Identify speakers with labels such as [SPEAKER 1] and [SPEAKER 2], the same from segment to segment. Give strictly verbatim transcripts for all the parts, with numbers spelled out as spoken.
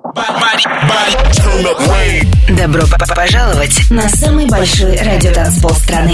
[SPEAKER 1] Добро пожаловать на самый большой радиотанцпол страны.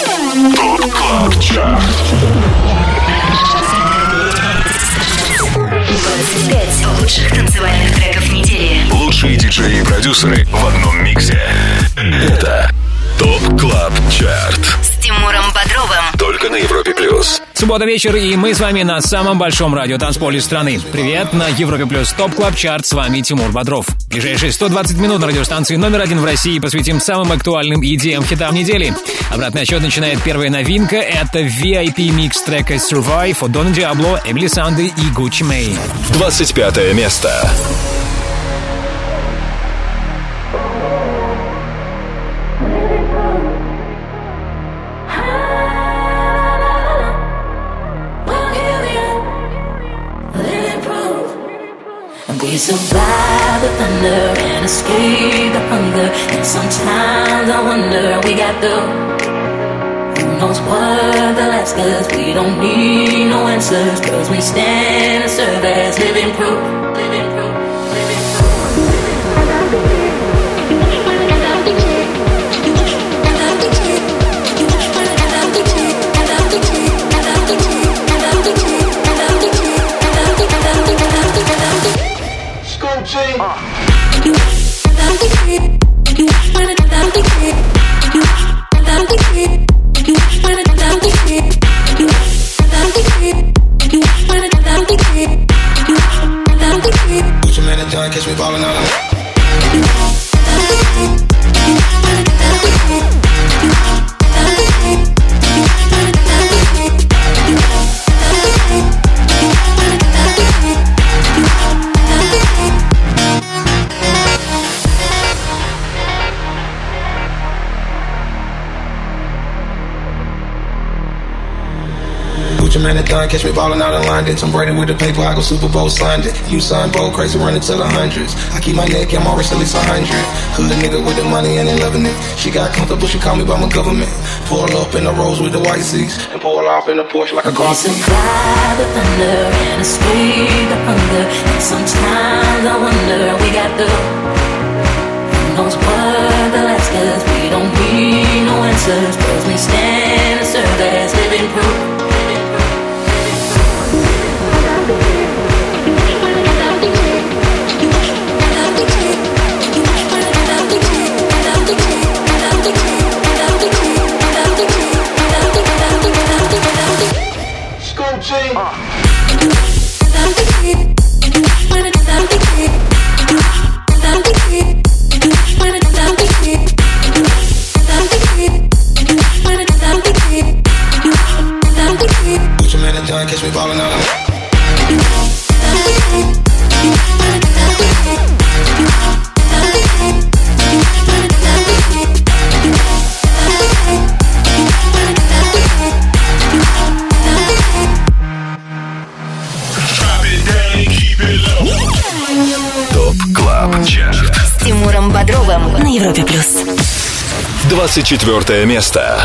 [SPEAKER 1] двадцать пять лучших танцевальных треков недели.
[SPEAKER 2] Лучшие диджеи и продюсеры в одном миксе. Это ТОП Клаб Чарт
[SPEAKER 1] С Тимуром Бодровым.
[SPEAKER 2] Только на Европе Плюс.
[SPEAKER 3] Суббота вечер, и мы с вами на самом большом радиотанцполе страны. Привет, на Европе Плюс ТОП Клаб Чарт. С вами Тимур Бодров. Ближайшие сто двадцать минут на радиостанции номер один в России посвятим самым актуальным идеям хитам недели. Обратный отсчет начинает первая новинка. Это ви ай пи микс трека Survive от Дона Диабло, Эмили Санды и Гуччи Мэй.
[SPEAKER 2] двадцать пятое место.
[SPEAKER 4] We survive the thunder and escape the hunger. And sometimes I wonder we got through. Who knows what they'll ask us? We don't need no answers, cause we stand and serve as living proof. Living proof.
[SPEAKER 5] Catch me ballin' out of man, it done. Catch me ballin' out of line. Did Tom Brady with the paper, I go Super Bowl signed it. You signed bold, crazy, running to the hundreds. I keep my neck and my wrist at least a hundred. Hood nigga with the money and they loving it. She got comfortable, she call me by my government. Pull up in the Rolls with the white seats and pull off in the Porsche like a car.
[SPEAKER 4] We survive the thunder and escape the hunger. And sometimes I wonder we got the. Who knows what they'll ask us? We don't need no answers, cause we stand and serve as living proof.
[SPEAKER 5] Catch me ballin' out of
[SPEAKER 2] ТОП Клаб Чарт
[SPEAKER 1] С Тимуром Бодровым на Европе Плюс.
[SPEAKER 2] двадцать четвёртое место.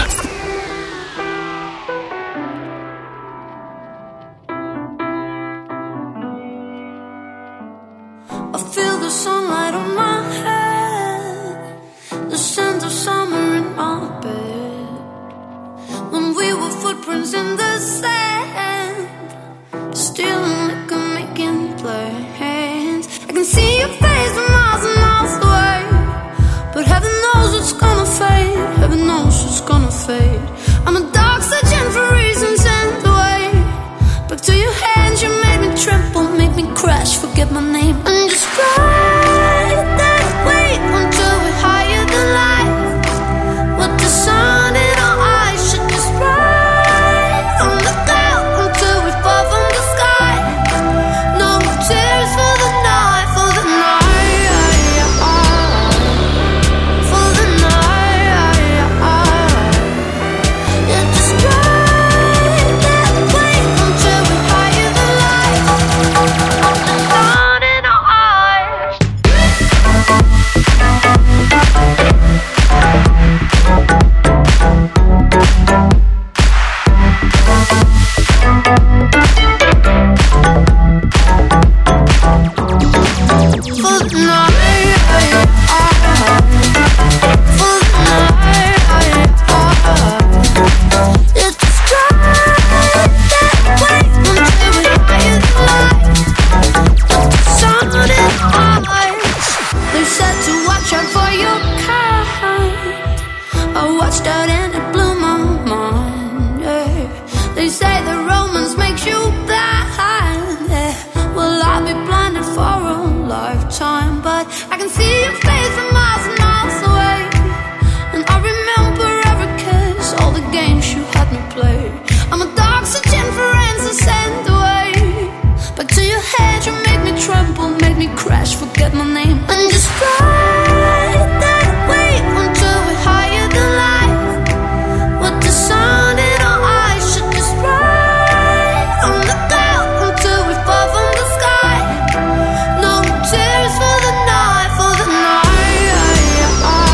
[SPEAKER 4] forget my name. And just ride that wave until we're higher than life. With the sun in our eyes, should just ride on the cloud until we fall from the sky. No tears for the night, for the night,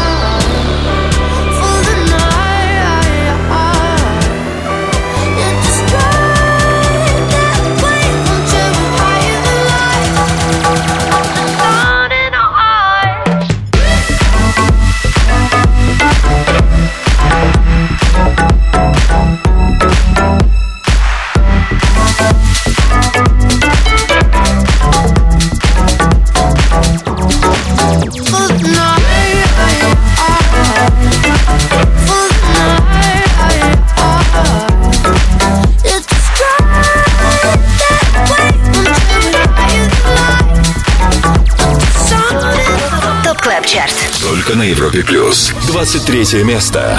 [SPEAKER 4] for the night. Yeah, just ride that wave until we're higher than life. The sun in our eyes. For the night, for the night. Yeah, just ride that wave until we're higher than life. The sun in
[SPEAKER 1] ТОП Клаб Чарт.
[SPEAKER 2] Только на Европе Плюс. двадцать третье место.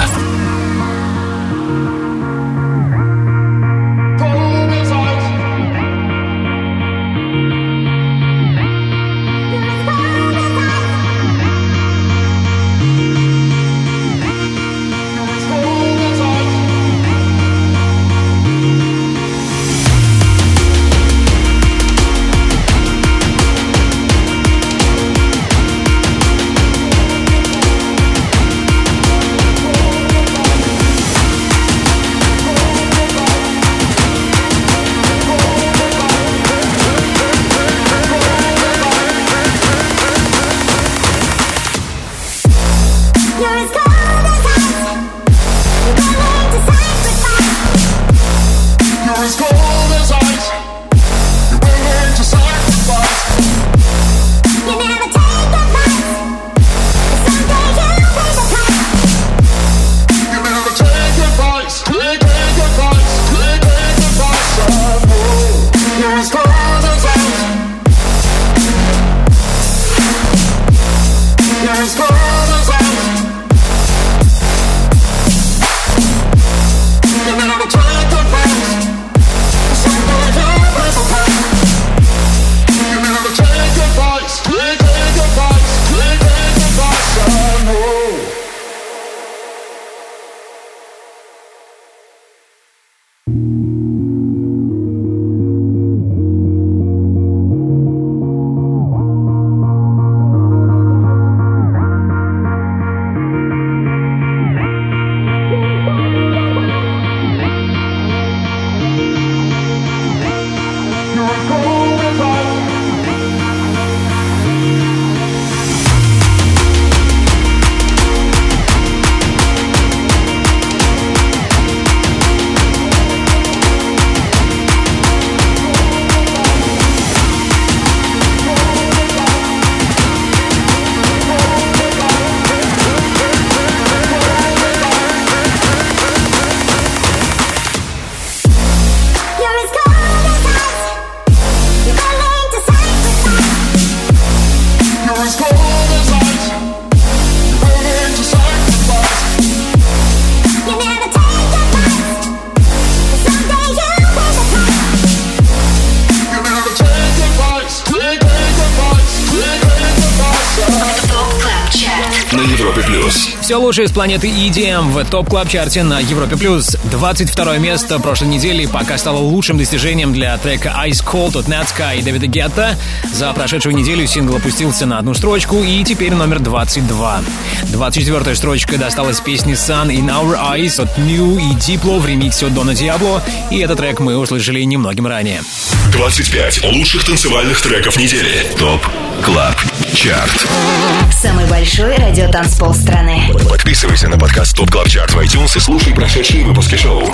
[SPEAKER 3] Все лучшее с планеты и ди эм в ТОП Клаб Чарте на Европе Плюс. двадцать второе место прошлой недели пока стало лучшим достижением для трека Ice Cold от Netsky и Дэвида Гетта. За прошедшую неделю сингл опустился на одну строчку и теперь номер двадцать два. двадцать четвёртая строчка досталась песни Sun in Our Eyes от Mew и Diplo в ремиксе от Дона Диабло, и этот трек мы услышали немногим ранее.
[SPEAKER 2] двадцать пять лучших танцевальных треков недели. ТОП Клаб Чарт.
[SPEAKER 1] Самый большой радиотанцпол страны.
[SPEAKER 2] Подписывайся на подкаст ТОП Клаб Чарт в iTunes и слушай прошедшие выпуски шоу.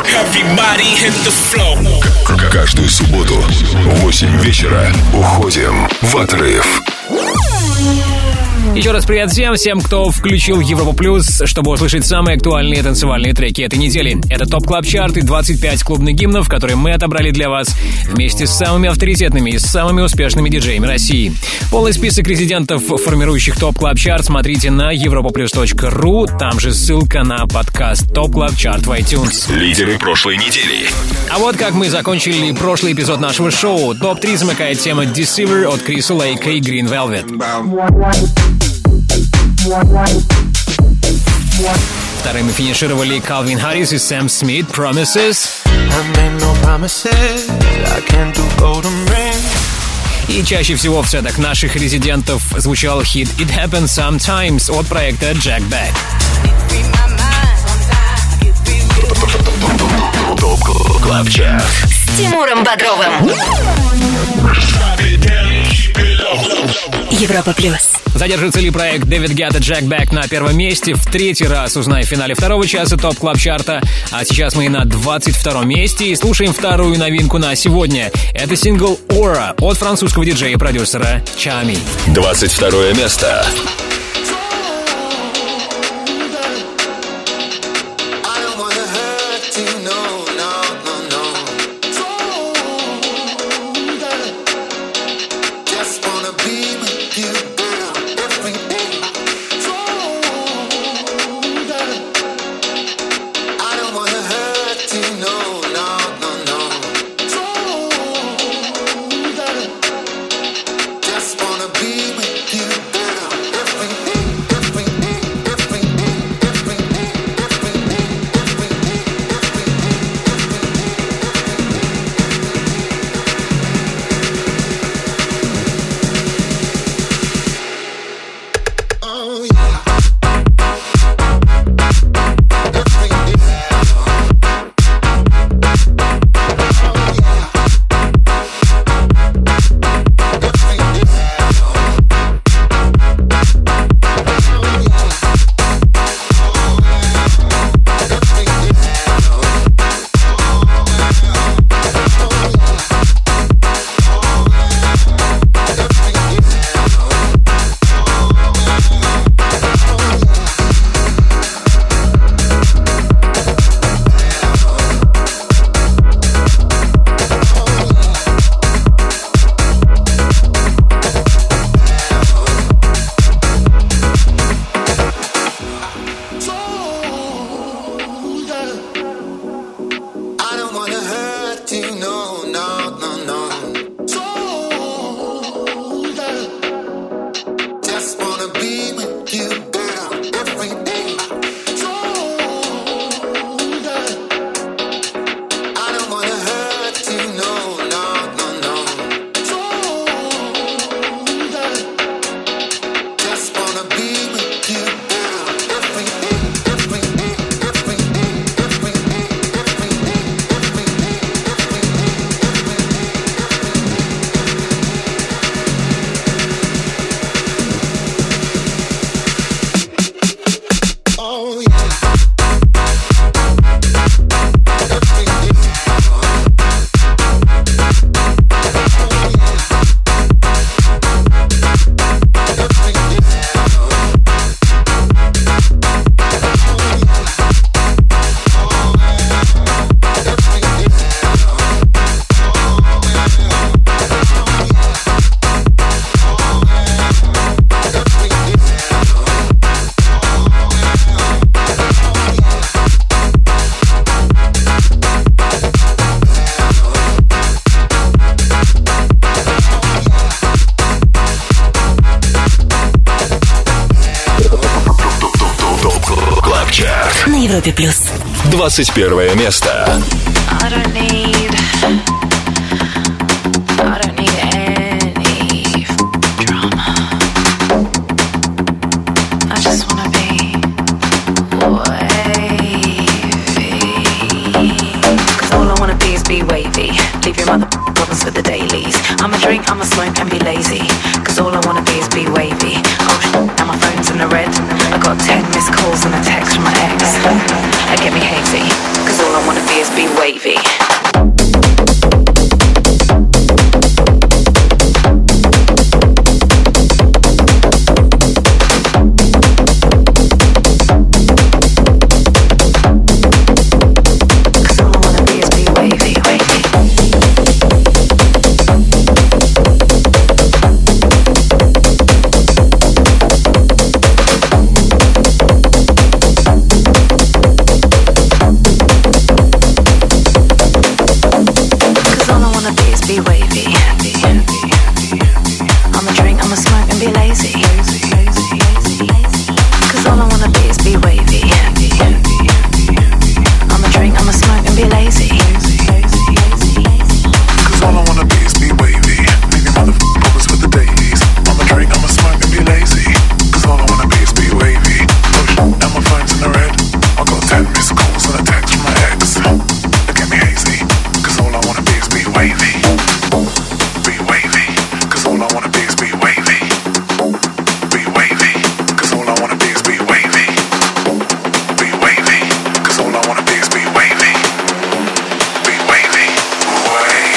[SPEAKER 2] К- Каждую субботу в восемь вечера уходим в отрыв.
[SPEAKER 3] Еще раз привет всем, всем, кто включил Европу Плюс, чтобы услышать самые актуальные танцевальные треки этой недели. Это ТОП Клаб Чарт и двадцать пять клубных гимнов, которые мы отобрали для вас вместе с самыми авторитетными и самыми успешными диджеями России. Полный список резидентов, формирующих ТОП Клаб Чарт, смотрите на европаплюс точка ру, там же ссылка на подкаст ТОП Клаб Чарт в iTunes.
[SPEAKER 2] Лидеры прошлой недели.
[SPEAKER 3] А вот как мы закончили прошлый эпизод нашего шоу. топ три замыкает тема Deceiver от Криса Лейка и Green Velvet. Вторыми финишировали Calvin Harris и Sam Smith Promises. И чаще всего в сетах наших резидентов звучал хит It Happens Sometimes от проекта Jack Back.
[SPEAKER 2] ТОП Клаб Чарт
[SPEAKER 1] с Тимуром Бодровым. Европа Плюс.
[SPEAKER 3] Задержится ли проект Дэвид Гетта Jack Back на первом месте? В третий раз узнай в финале второго часа ТОП Клаб Чарта. А сейчас мы на двадцать втором месте и слушаем вторую новинку на сегодня. Это сингл Aura от французского диджея и продюсера Chami.
[SPEAKER 2] двадцать второе место.
[SPEAKER 1] Европе Плюс.
[SPEAKER 2] двадцать первое место.
[SPEAKER 6] I'ma drink, I'ma smoke and be lazy, cause all I wanna be is be wavy. Oh shit, now my phone's in the red. I got ten missed calls and a text from my ex. It get me hazy, cause all I wanna be is be wavy. Cause all I wanna be is be wavy. I'ma drink, I'ma smoke and be lazy.
[SPEAKER 7] Cause all I wanna be is be wavy. Maybe motherfuckers with the days. I'ma drink, I'ma smoke and be lazy. Cause all I wanna be is be wavy. Push, and my phone's in the red. I got ten missed calls and a text from my ex. Look at me hazy. Cause all I wanna be is be wavy. Be wavy. Cause all I wanna be is be wavy. Be wavy. Cause all I wanna be is be wavy. Be wavy. Cause all I wanna be is be wavy. Be wavy. Wavy.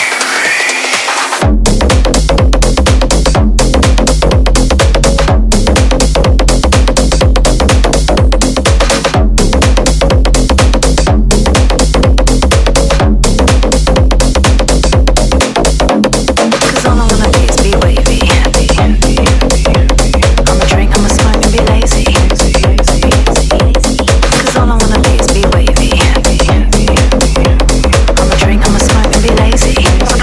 [SPEAKER 6] Cause all I wanna be is be wavy. I'ma drink, I'ma smoke and be lazy. Cause all I wanna be is be wavy. I'ma drink, I'ma smoke and be lazy.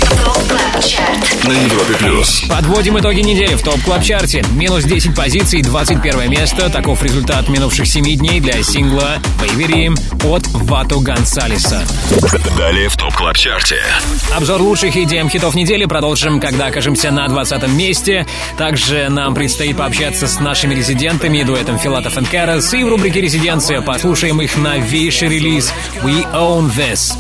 [SPEAKER 2] На Европе плюс.
[SPEAKER 3] Подводим итоги недели в ТОП Клаб Чарте. Минус десять позиций, двадцать первое место. Таков результат минувших семи дней для сингла «Вейвери» от Вато Гонсалеса.
[SPEAKER 2] Далее в ТОП Клаб Чарте.
[SPEAKER 3] Обзор лучших и ди эм-хитов недели продолжим, когда окажемся на двадцатом месте. Также нам предстоит пообщаться с нашими резидентами, дуэтом Филатов и Карас. И в рубрике «Резиденция» послушаем их новейший релиз «We Own This».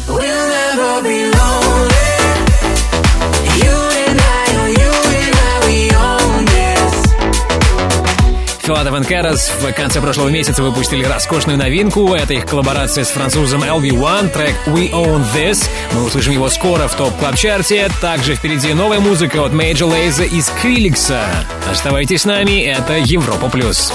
[SPEAKER 3] Филатов и Карас в конце прошлого месяца выпустили роскошную новинку. Это их коллаборация с французом эл ви один, трек «We Own This». Мы услышим его скоро в ТОП Клаб Чарте. Также впереди новая музыка от Major Lazer и Скриликса. Оставайтесь с нами, это Европа Плюс.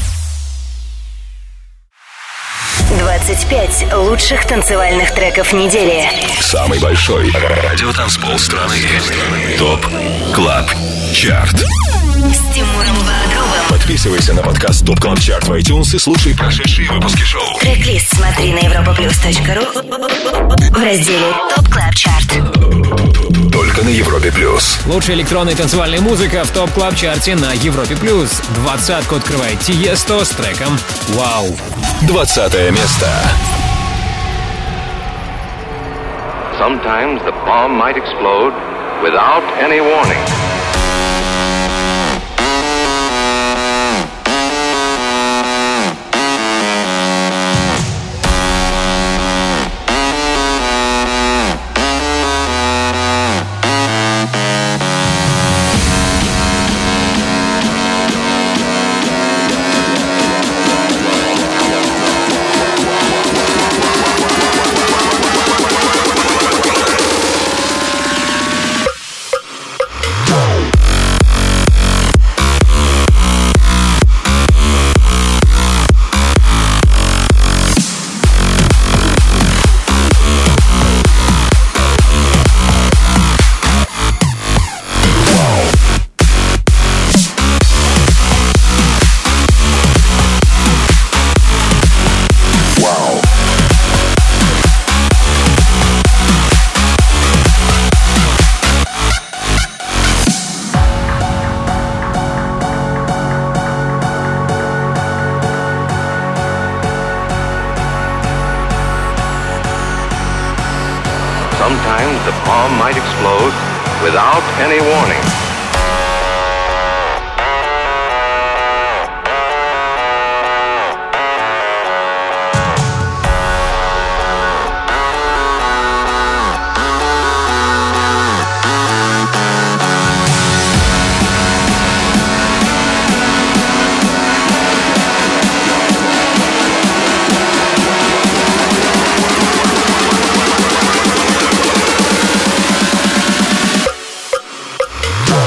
[SPEAKER 1] двадцать пять лучших танцевальных треков недели.
[SPEAKER 2] Самый большой радиотанцпол страны. ТОП Клаб Чарт.
[SPEAKER 1] С Тимуром Бодровым.
[SPEAKER 2] Подписывайся на подкаст ТОП Клаб Чарт в iTunes и слушай прошедшие выпуски шоу.
[SPEAKER 1] Трек-лист смотри на европаплюс точка ру в разделе ТОП Клаб Чарт.
[SPEAKER 2] Только на Европе плюс.
[SPEAKER 3] Лучшая электронная и танцевальная музыка в ТОП Клаб Чарте на Европе Плюс. Двадцатку открывает Тиесто с треком «Вау».
[SPEAKER 2] Двадцатое место.
[SPEAKER 8] Sometimes the bomb might explode without any warning. Sometimes the bomb might explode without any warning.
[SPEAKER 2] Wow.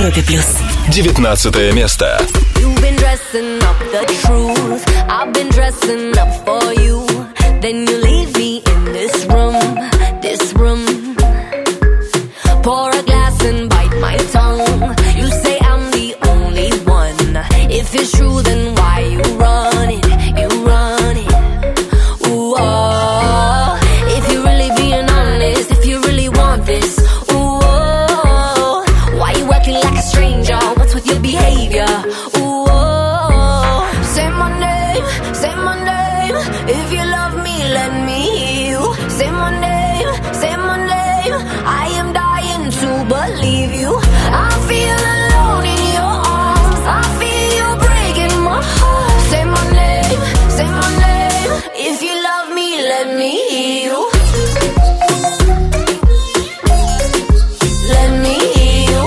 [SPEAKER 1] Европе плюс.
[SPEAKER 2] девятнадцатое место.
[SPEAKER 4] You've been dressing up the truth. I've been dressing up for you. Then you leave me in this room, this room. Pour a glass and bite my tongue. You say I'm the only one. If it's true, then why you run it? You run it. Ooh, oh. If you're really being honest, if you really want this, ooh, oh. Why you acting like a stranger? What's with your behavior? Ooh, oh. Say my name, say my name. If you love me, let me hear you. Say my name, say my name. I am dying to believe you. I feel alone in your arms. I feel you breaking my heart. Say my name, say my name. If you love me, let me hear you. Let me hear you.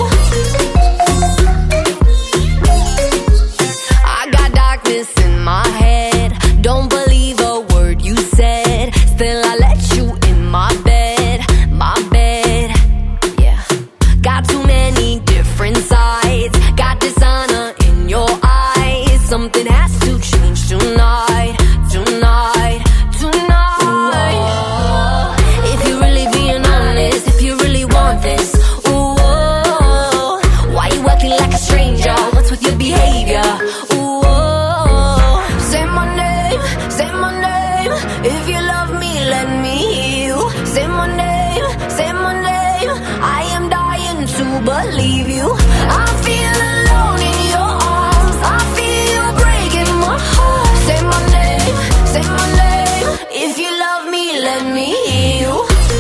[SPEAKER 4] I got darkness in my head. Don't believe a word you said. Still I let you in my bed, my bed. Yeah. Got too many different sides. Got dishonor in your eyes. Something has to change tonight, tonight, tonight. Ooh, if you're really being honest, if you really want this, ooh, oh, why you acting like a stranger? What's with your behavior? Ooh, oh, say my name, say my name. If you love me, let me hear you. Say my name, say my name. I am dying to believe you. I feel alone in your arms. I feel you breaking my heart. Say my name, say my name. If you love me, let me hear you.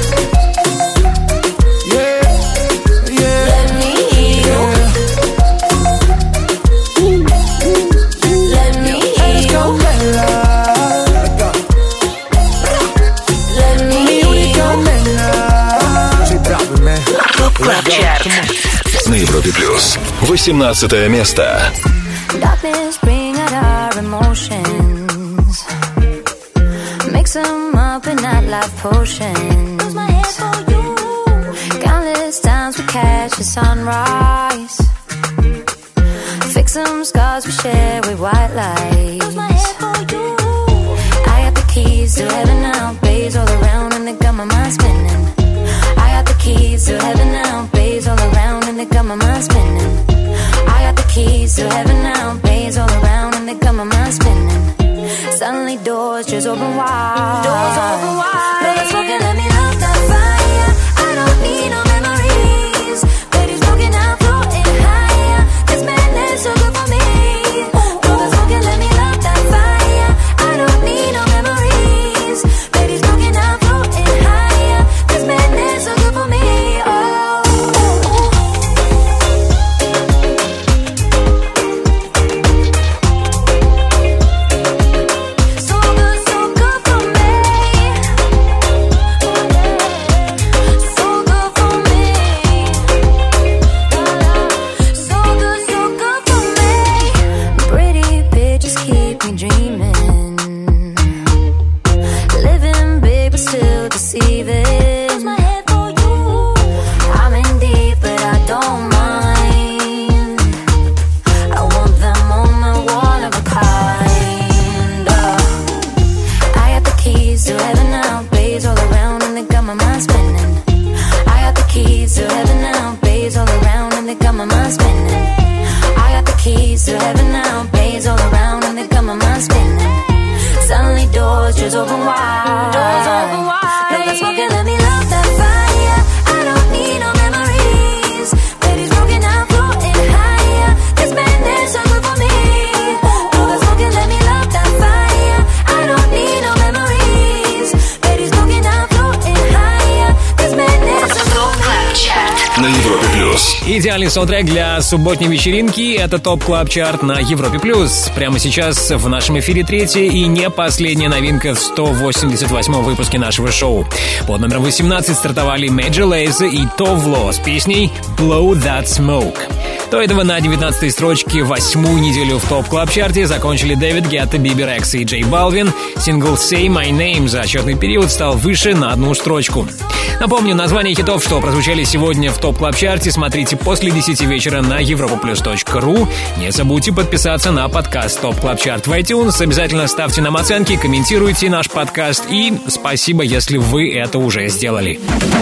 [SPEAKER 5] Yeah, yeah.
[SPEAKER 4] Let me hear you. Let me hear you. Let me hear you.
[SPEAKER 1] Топ Клаб Чарт.
[SPEAKER 2] На Европе плюс восемнадцатое место.
[SPEAKER 9] Darkness bring out our emotions. Mix them up in that life potions. Countless times we catch the sunrise. Fix some scars we share with white lights. I got the keys to heaven now. Bays all around and they got my mind spinning. I got the keys to heaven now. Bays all around and they got my mind spinning. I got the keys to heaven now. Bays all around and they got my mind spinning. Suddenly doors just open wide. Doors open wide. But it's smoking, let me love that fire. I don't need no memories. Baby smoking, I'm floating higher. This madness so good for me. But it's smoking, let me love that fire. I don't need no memories. Baby smoking, I'm floating higher. This madness so good for me. Oh. So good, so good for me. So good for me. So good, so good for me. Pretty pictures keep me dreaming. Living big but still deceiving. I'm in deep but I don't mind. I want them on my one of a kind. Uh, I got the keys to heaven now. Bays all around and they got my mind spinning. I got the keys to heaven now. Bays all around and they got my mind spinning. I got the keys to heaven now. Bays all around and they got my mind spinning. Suddenly doors just open wide. Doors open wide. No, that's smoking, let me love that fire. I don't need no memories. Baby smoking, I'm floating higher. This madness so good for me. No, that's smoking, let me love that fire. I don't need no memories. Baby smoking, I'm floating higher. This madness so good for me.
[SPEAKER 2] На Европе плюс.
[SPEAKER 3] Идеальный саундтрек для субботней вечеринки — это ТОП Клаб Чарт на Европе плюс. Прямо сейчас в нашем эфире третья и не последняя новинка в сто восемьдесят восьмом выпуске нашего шоу. Под номером восемнадцать стартовали Major Lazer и Tovlo с песней «Blow That Smoke». До этого на девятнадцатой строчке восьмую неделю в топ-клаб-чарте закончили Дэвид Гетта, Бибер Экс и Джей Балвин. Сингл «Say My Name» за отчетный период стал выше на одну строчку. Напомню, название хитов, что прозвучали сегодня в топ-клаб-чарте, смотрите после десяти вечера на европаплюс точка ру. Не забудьте подписаться на подкаст «Топ Клаб Чарт» в iTunes. Обязательно ставьте нам оценки, комментируйте наш подкаст. И спасибо, если вы это уже сделали.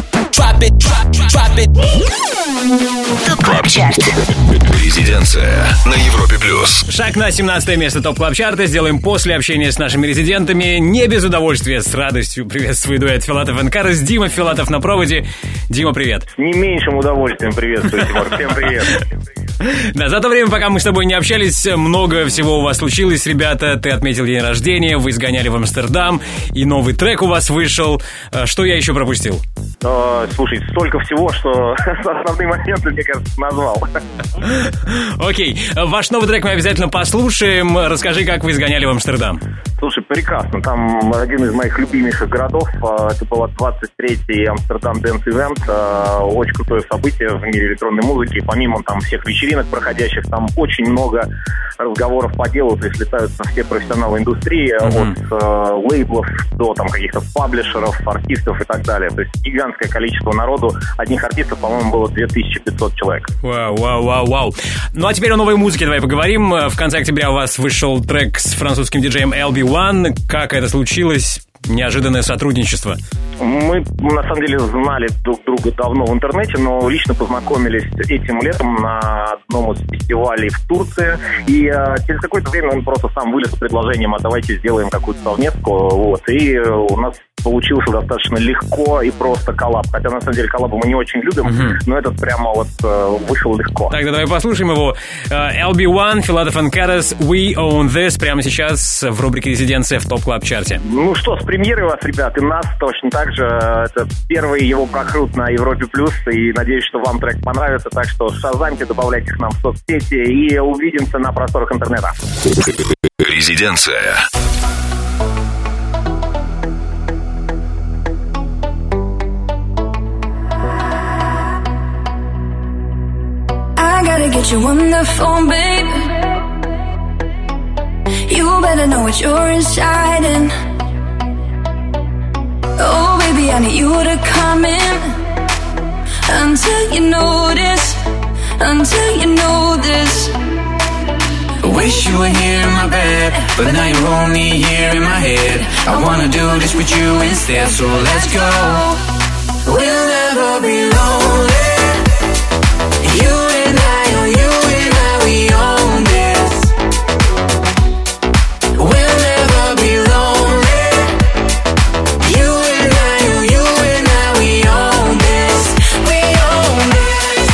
[SPEAKER 1] Топ Клаб Чарт.
[SPEAKER 2] Резиденция на Европе Плюс.
[SPEAKER 3] Шаг на семнадцатое место Топ Клаб Чарта сделаем после общения с нашими резидентами. Не без удовольствия, с радостью приветствую дуэт Филатов энд Карас. Дима Филатов на проводе. Дима, привет.
[SPEAKER 10] Не меньшим удовольствием приветствую, Тимур. Всем привет.
[SPEAKER 3] Да, за то время, пока мы с тобой не общались, много всего у вас случилось, ребята. Ты отметил день рождения, вы сгоняли в Амстердам, и новый трек у вас вышел. Что я еще пропустил?
[SPEAKER 10] Uh, слушай, столько всего, что основные моменты, мне кажется, назвал.
[SPEAKER 3] Окей, okay. Ваш новый трек мы обязательно послушаем. Расскажи, как вы сгоняли в Амстердам.
[SPEAKER 10] Слушай, прекрасно. Там один из моих любимейших городов. Это был двадцать третий Амстердам Dance Event. Очень крутое событие в мире электронной музыки. Помимо там всех вечеринок проходящих, там очень много разговоров по делу. То есть летаются все профессионалы индустрии, mm-hmm. от э, лейблов до там каких-то паблишеров, артистов и так далее. То есть гигантское количество народу. Одних артистов, по-моему, было две тысячи пятьсот человек.
[SPEAKER 3] Вау, вау, вау, вау. Ну а теперь о новой музыке давай поговорим. В конце октября у вас вышел трек с французским диджеем эл би уан. Как это случилось? Неожиданное сотрудничество.
[SPEAKER 10] Мы, на самом деле, знали друг друга давно в интернете, но лично познакомились этим летом на одном из фестивалей в Турции. И а, через какое-то время он просто сам вылез с предложением: а давайте сделаем какую-то совместку. Вот. И у нас получился достаточно легко и просто коллаб. Хотя, на самом деле, коллабы мы не очень любим, uh-huh. но этот прямо вот вышел легко.
[SPEAKER 3] Тогда давай послушаем его. эл би уан, Филатов энд Карас, We Own This, прямо сейчас в рубрике «Резиденция» в Топ Клаб Чарте.
[SPEAKER 10] Ну что, с премьерой вас, ребят, и нас точно так же. Это первый его прокрут на Европе Плюс, и надеюсь, что вам трек понравится. Так что шазамьте, добавляйте к нам в соцсети, и увидимся на просторах интернета.
[SPEAKER 2] Резиденция.
[SPEAKER 9] I gotta get you on the phone, babe. You better know what you're inside and oh, baby, I need you to come in until you notice, until you know this.
[SPEAKER 11] Wish you were here in my bed, but now you're only here in my head. I wanna do this with you instead, so let's go. We'll never be lonely. You and I, oh, you and I, we own this. We'll never be lonely. You and I, oh, you and I, we own this. We own this.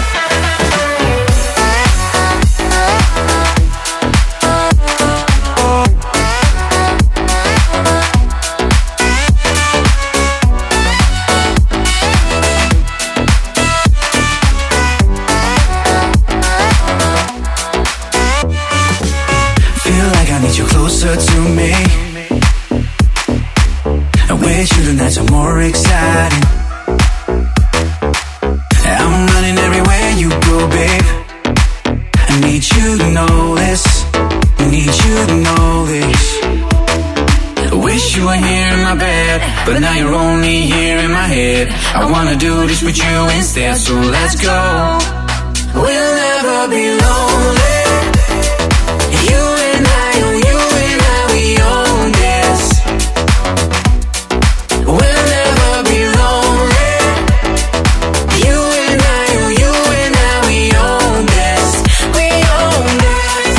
[SPEAKER 11] Closer to me, and with you the nights are more exciting. I'm running everywhere you go, babe. I need you to know this. I need you to know this. Wish you were here in my bed, but now you're only here in my head. I wanna do this with you instead, so let's go. We'll never be lonely. You and I, oh, you and I, we own this. We'll never be lonely. You and I, oh, you and I, we own this. We own this.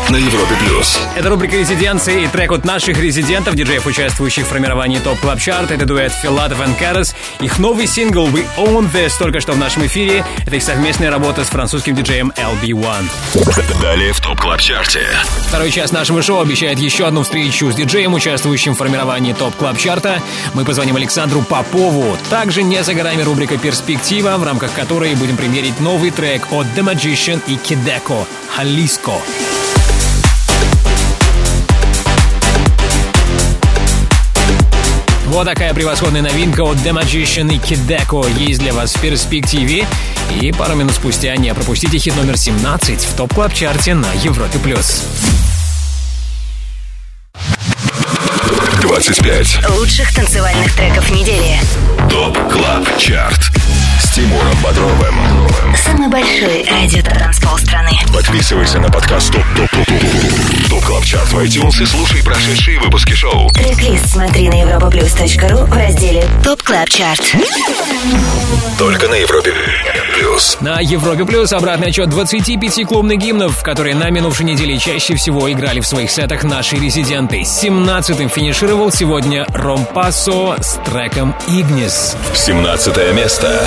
[SPEAKER 2] на Европе плюс.
[SPEAKER 3] Это рубрика «Резиденции» и трек от наших резидентов, диджеев, участвующих в формировании ТОП Клаб Чарт. Это дуэт Филатов и Карас. Их новый сингл «We Own This» только что в нашем эфире. Это их совместная работа с французским диджеем эл би один.
[SPEAKER 2] Далее в ТОП Клаб Чарте.
[SPEAKER 3] Второй час нашего шоу обещает еще одну встречу с диджеем, участвующим в формировании ТОП Клаб Чарта. Мы позвоним Александру Попову. Также не за горами рубрика «Перспектива», в рамках которой будем примерить новый трек от The Magician и Кидеко «Халиско». Вот такая превосходная новинка от The Magician и Кидеко есть для вас в перспективе. И пару минут спустя не пропустите хит номер семнадцать в ТОП Клаб Чарте на Европе плюс.
[SPEAKER 2] двадцать пять
[SPEAKER 1] лучших танцевальных треков недели.
[SPEAKER 2] ТОП Клаб Чарт с Тимуром Бодровым.
[SPEAKER 1] Самый большой радио-транспол страны.
[SPEAKER 2] Подписывайся на подкаст ТОП ТОП ТОП ТОП ТОП Клаб Чарт в iTunes и слушай прошедшие выпуски шоу.
[SPEAKER 1] Трек-лист смотри на европаплюс точка ру в разделе ТОП Клаб Чарт.
[SPEAKER 2] Только на Европе плюс.
[SPEAKER 3] На Европе плюс обратный отчет двадцати пяти клубных гимнов, которые на минувшей неделе чаще всего играли в своих сетах наши резиденты. семнадцатым финишировал сегодня Ромпасо с треком «Игнис».
[SPEAKER 2] семнадцатое место.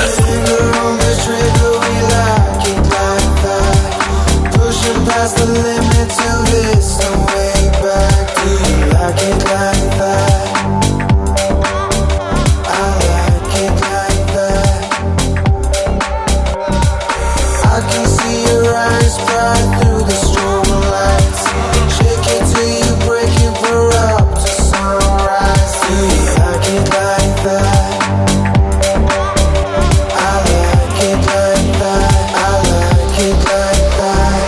[SPEAKER 12] Past the limit to this, no way back. Do you like it like that? I like it like that. I can see your eyes bright through the strobe lights. Shake it till you break it, we're up to sunrise. Do you like it like that? I like it like that. I like it like that.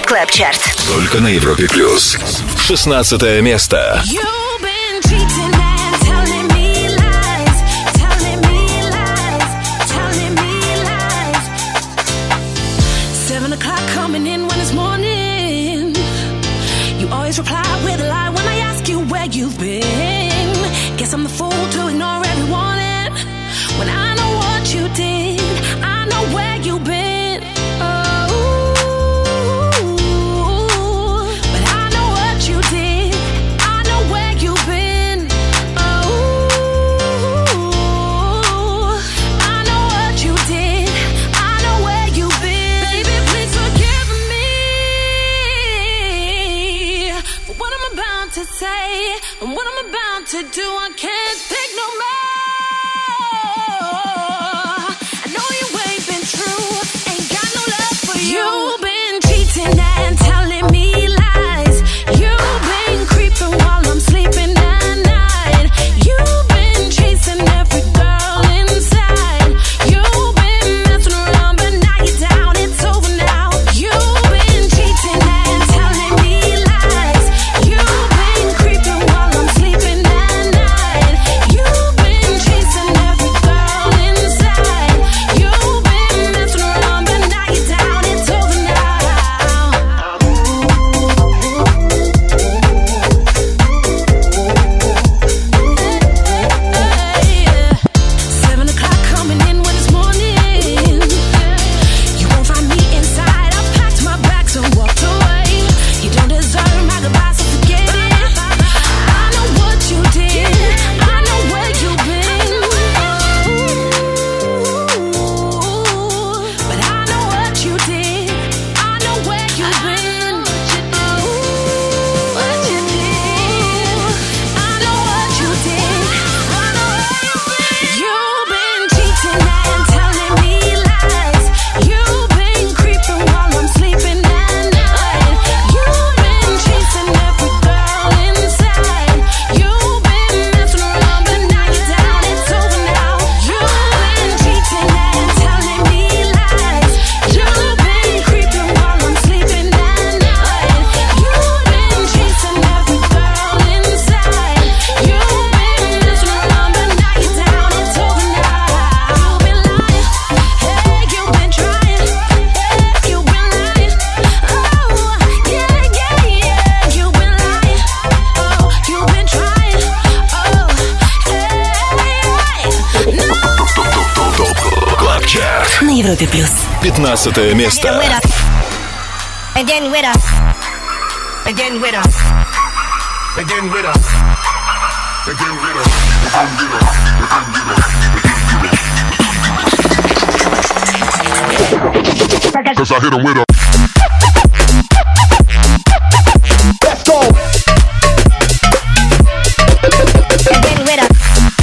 [SPEAKER 2] Только на Европе плюс. шестнадцатое место.
[SPEAKER 13] You've been cheating now. been. Guess I'm the fool to ignore every warning. When I know what you did, I know where you've been. Oh, but I know what you did. I know where you've been. Oh, I know what you did. I know where you've been. Baby, please forgive me for what I'm about to say and what I'm about to do. I can't take no more. I know you ain't been true, ain't got no love for you. You've been cheating and telling me lies. You've been creeping while I'm sleeping at night. You've been chasing every girl inside. You've been messing around, but now you're down, it's over now. You've been cheating and telling me lies. You've been creeping while I'm sleeping at night. You've been chasing every girl inside. You've been messing around, but now you're down, it's over now. Seven o'clock coming in when it's morning. You won't find me inside. I packed my bags and walked away. You don't deserve my goodbye, so forget it. I know what you did. I know where you've been. But I know what you did. I know where you've been. What you did. I know what you did. I know where you've been. You've been cheating and telling me lies. You've been creeping while I'm sleeping at night. You've been chasing every girl inside. You've been messing around, but now you're down, it's over now. You've been cheating and telling me lies. You've been creeping while I'm sleeping at night. You've been chasing every girl inside. You've been messing around, but now you're down, it's over now. You've been lying, hey, you've been trying, hey, you've been lying. Oh, yeah, yeah, yeah, you've been lying. Oh, you've been trying. Oh, hey, no.
[SPEAKER 2] ТОП Клаб Чарт.
[SPEAKER 1] На Европе плюс.
[SPEAKER 2] пятнадцатое место.
[SPEAKER 1] Again with us. Again with us.
[SPEAKER 7] Again with us. Again with us. Cause I hit him with a. Let's go.
[SPEAKER 1] Again with us.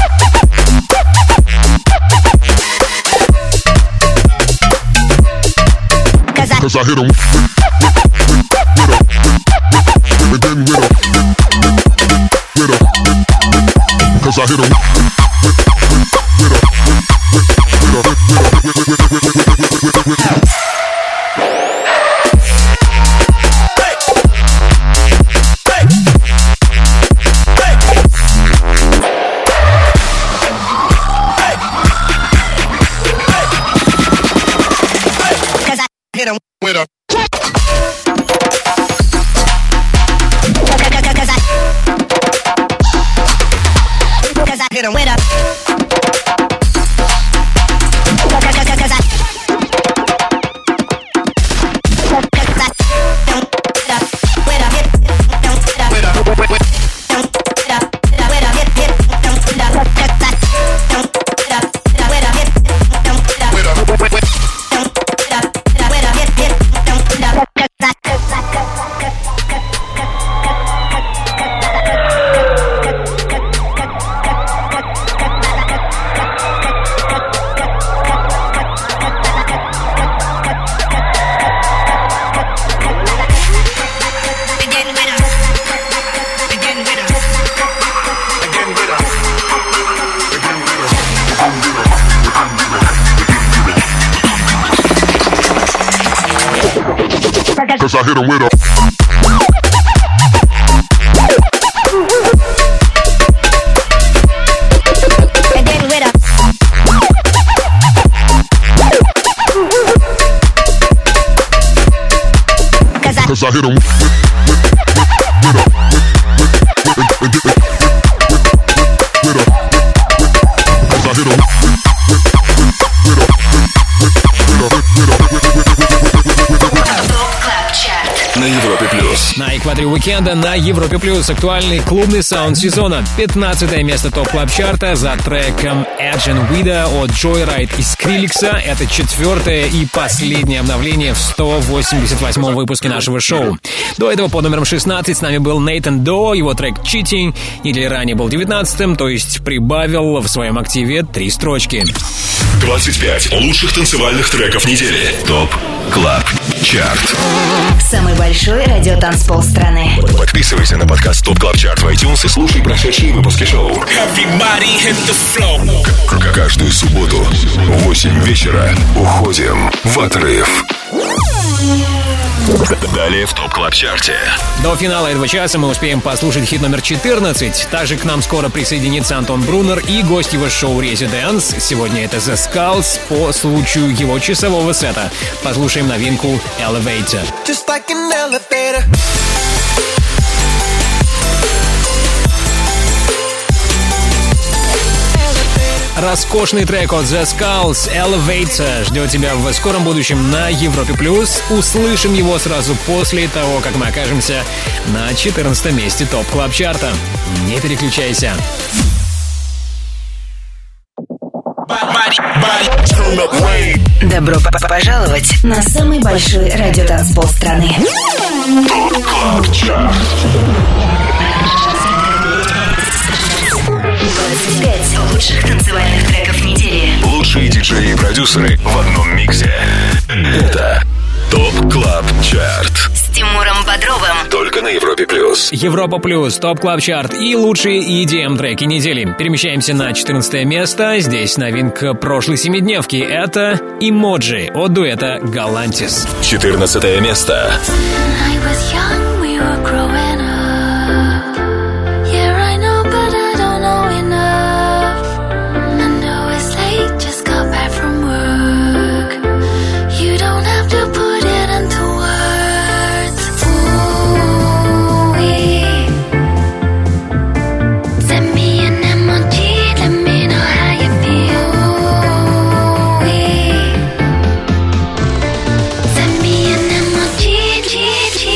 [SPEAKER 7] Cause I hit him with a. Again with a. With a. Cause I hit him with a.
[SPEAKER 1] Hit him
[SPEAKER 7] with a.
[SPEAKER 1] Cause I hit him with a.
[SPEAKER 7] Cause I hit him with a.
[SPEAKER 1] Again with a. Cause I,
[SPEAKER 7] Cause I hit him with, with, with, with a. With, with, with, with,
[SPEAKER 3] Уикенда на Европе Плюс. Актуальный клубный саунд сезона. пятнадцатое место ТОП Клаб Чарта за треком Edge and Vida от Joyride и Скриликса. Это четвертое и последнее обновление в сто восемьдесят восьмом выпуске нашего шоу. До этого под номером шестнадцать с нами был Нейтан До, его трек Cheating. Неделю ранее был девятнадцатым, то есть прибавил в своем активе три строчки.
[SPEAKER 2] двадцать пять лучших танцевальных треков недели. ТОП Клаб Чарт.
[SPEAKER 1] Самый большой радиотанцпол страны.
[SPEAKER 2] Подписывайся на подкаст ТОП Клаб Чарт в iTunes и слушай прошедшие выпуски шоу. К- Каждую субботу в восемь вечера уходим в отрыв. Далее в ТОП Клаб Чарте.
[SPEAKER 3] До финала этого часа мы успеем послушать хит номер четырнадцать. Также к нам скоро присоединится Антон Брунер и гость его шоу Residence. Сегодня это The Skulls по случаю его часового сета. Послушаем новинку Elevator.
[SPEAKER 12] Just like an elevator.
[SPEAKER 3] Роскошный трек от The Skulls Elevator ждет тебя в скором будущем на Европе Плюс. Услышим его сразу после того, как мы окажемся на четырнадцатом месте ТОП Клаб Чарта. Не переключайся.
[SPEAKER 1] Добро п- пожаловать на самый большой радиотанцпол страны.
[SPEAKER 2] ТОП Клаб Чарт.
[SPEAKER 1] двадцать пять лучших танцевальных треков недели.
[SPEAKER 2] Лучшие диджеи и продюсеры в одном миксе. Это ТОП Клаб Чарт.
[SPEAKER 1] С Тимуром Бодровым.
[SPEAKER 2] Только на Европе Плюс.
[SPEAKER 3] Европа Плюс, ТОП Клаб Чарт и лучшие и ди эм треки недели. Перемещаемся на четырнадцатое место. Здесь новинка прошлой семидневки. Это Emoji от дуэта Galantis.
[SPEAKER 2] четырнадцатое место.
[SPEAKER 9] I was young, we were growing up. Yeah, I know, but I don't know enough. I know it's late, just got back from work. You don't have to put it into words. Ooh, send me an emoji, let me know how you feel. Ooh, send me an emoji, G, G.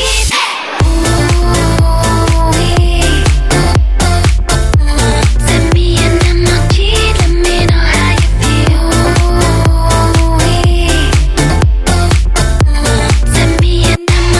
[SPEAKER 9] Send me an emoji, let me know how you feel. Send me an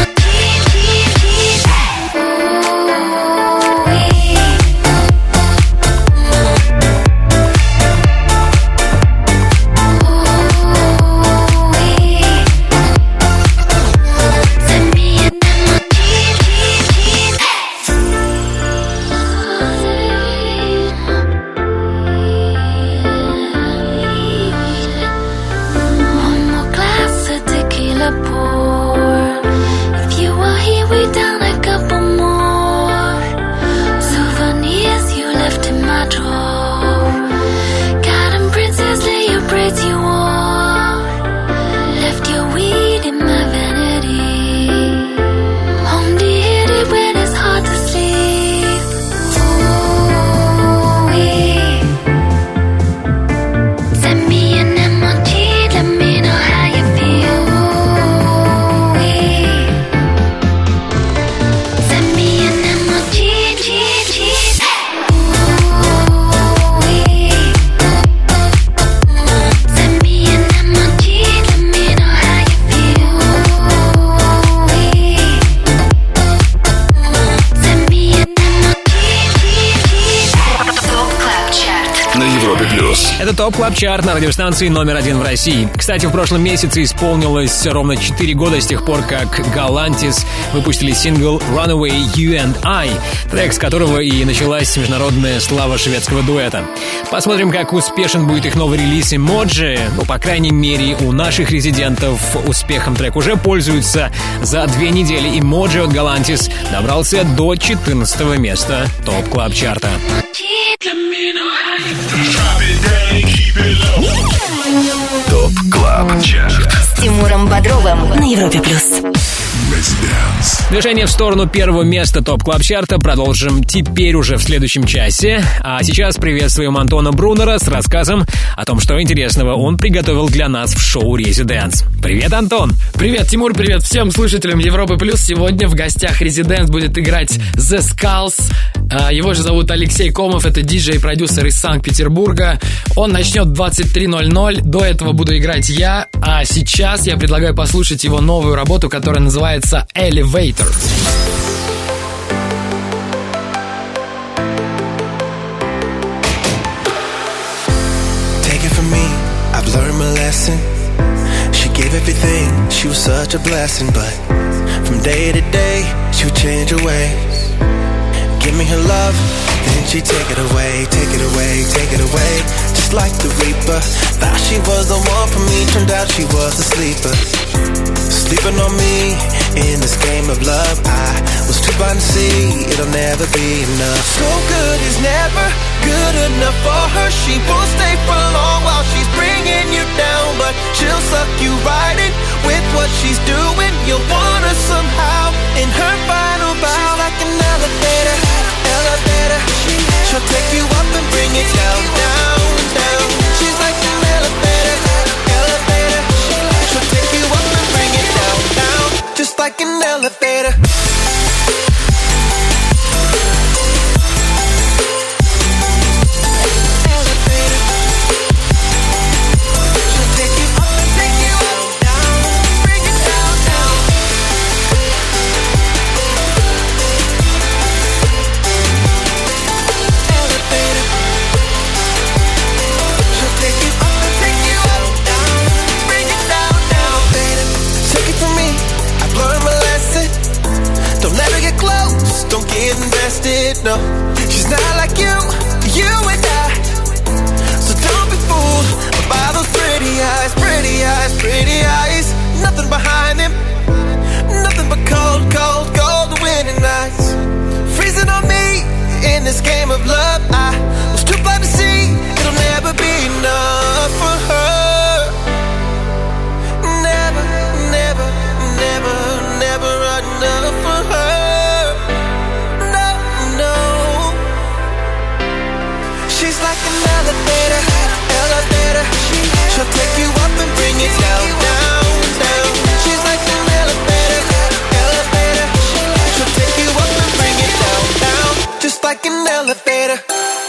[SPEAKER 9] one more glass of tequila pour. If you were here, we down a couple more souvenirs you left in my drawer. Got 'em, princess, lay your braids you wore. Left your weed in my vanity. Only hit it when it's hard to sleep. Ooh, send me an emoji, let me know how you feel. Send me an emoji, G, G. Send me an emoji, let me know how you feel. Send me an
[SPEAKER 1] ТОП Клаб Чарт.
[SPEAKER 2] На Европе Плюс.
[SPEAKER 3] Это ТОП Клаб Чарт на радиостанции номер один в России. Кстати, в прошлом месяце исполнилось ровно четыре года с тех пор, как Galantis выпустили сингл Runaway You and I, трек с которого и началась международная слава шведского дуэта. Посмотрим, как успешен будет их новый релиз Emoji. Ну, по крайней мере, у наших резидентов успехом трек уже пользуются. За две недели Emoji от Galantis добрался до четырнадцатого места ТОП Клаб Чарта.
[SPEAKER 2] ТОП Клаб Чарт.
[SPEAKER 1] С Тимуром Бодровым на Европе Плюс.
[SPEAKER 3] Движение в сторону первого места ТОП Клаб Чарта продолжим теперь уже в следующем часе. А сейчас приветствуем Антона Брунера с рассказом о том, что интересного он приготовил для нас в шоу «Резиденс». Привет, Антон!
[SPEAKER 14] Привет, Тимур, привет всем слушателям Европы Плюс. Сегодня в гостях «Резиденс» будет играть The Skulls. Его же зовут Алексей Комов, это диджей и продюсер из Санкт-Петербурга. Он начнет в двадцать три ноль ноль, до этого буду играть я, а сейчас я предлагаю послушать его новую работу, которая называется «Elevator».
[SPEAKER 15] Take it from me, I've learned my lesson. She gave everything, she was such a blessing. But from day to day, she would change her ways. Give me her love, then she'd take it away, take it away, take it away. Just like the Reaper, thought she was the one for me, turned out she was a sleeper. Sleeping on me in this game of love, I was too blind to see it'll never be enough. So good is never good enough for her. She won't stay for long while she's bringing you down, but she'll suck you right in with what she's doing. You'll want her somehow in her final bow. She's like an elevator, elevator. She'll take you up and bring it down, down, down. She's like an elevator, elevator. She'll take you up and bring it down, down. Just like an elevator. Don't get invested, no. She's not like you, you and I. So don't be fooled by those pretty eyes, pretty eyes, pretty eyes. Nothing behind them, nothing but cold, cold, cold winning nights. Freezing on me in this game of love. I was too blind to see it'll never be enough for her. Never, never, never, never enough for her. She's like an elevator, elevator. She'll take you up and bring it down, down, down. She's like an elevator, elevator. She'll take you up and bring it down, down. Just like an elevator.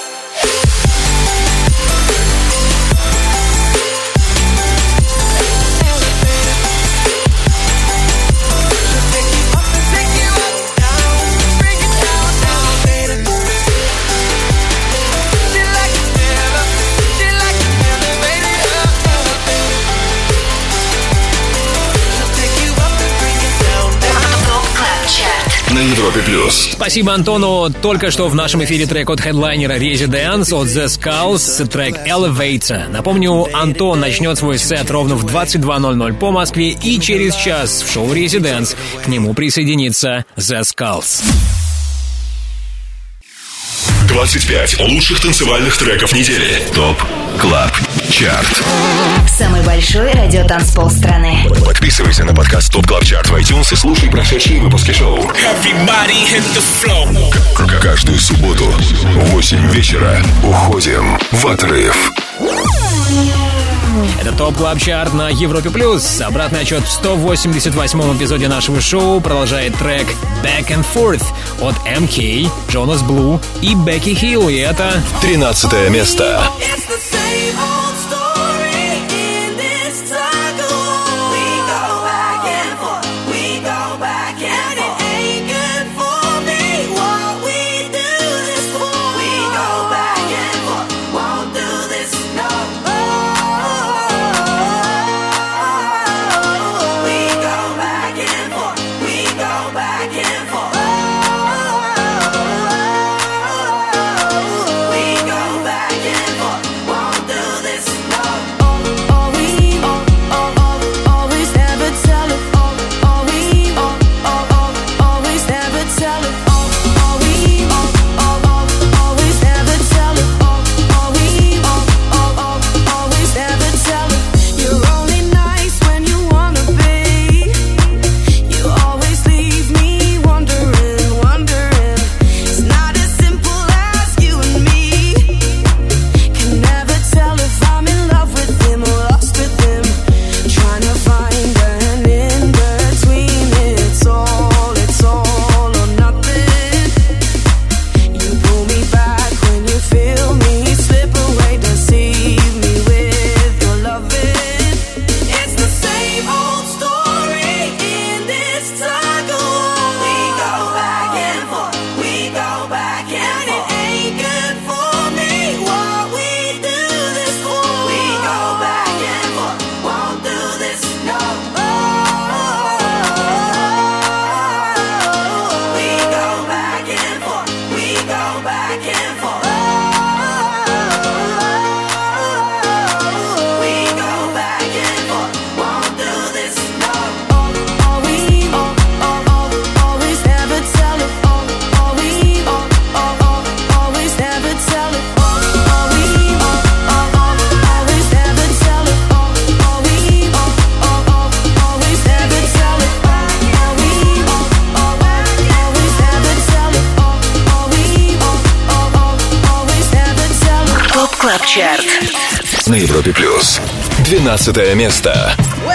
[SPEAKER 2] На Европе Плюс.
[SPEAKER 3] Спасибо Антону. Только что в нашем эфире трек от хедлайнера Residence от The Skulls, трек Elevator. Напомню, Антон начнет свой сет ровно в двадцать два ноль ноль по Москве, и через час в шоу Residence к нему присоединится The Skulls.
[SPEAKER 2] двадцать пять лучших танцевальных треков недели. ТОП Клаб Чарт.
[SPEAKER 1] Самый большой радиотанцпол страны.
[SPEAKER 2] Подписывайся на подкаст ТОП Клаб Чарт в iTunes и слушай прошедшие выпуски шоу. К- Каждую субботу в восемь вечера уходим в отрыв.
[SPEAKER 3] Это ТОП Клаб Чарт на Европе Плюс. Обратный отчет в сто восемьдесят восьмом эпизоде нашего шоу продолжает трек Back and Forth от эм кей, Jonas Blue и Becky Hill. И это
[SPEAKER 2] тринадцатое место.
[SPEAKER 13] Won't do this.
[SPEAKER 1] Клаб Чарт.
[SPEAKER 2] На Европе Плюс. двенадцатое место.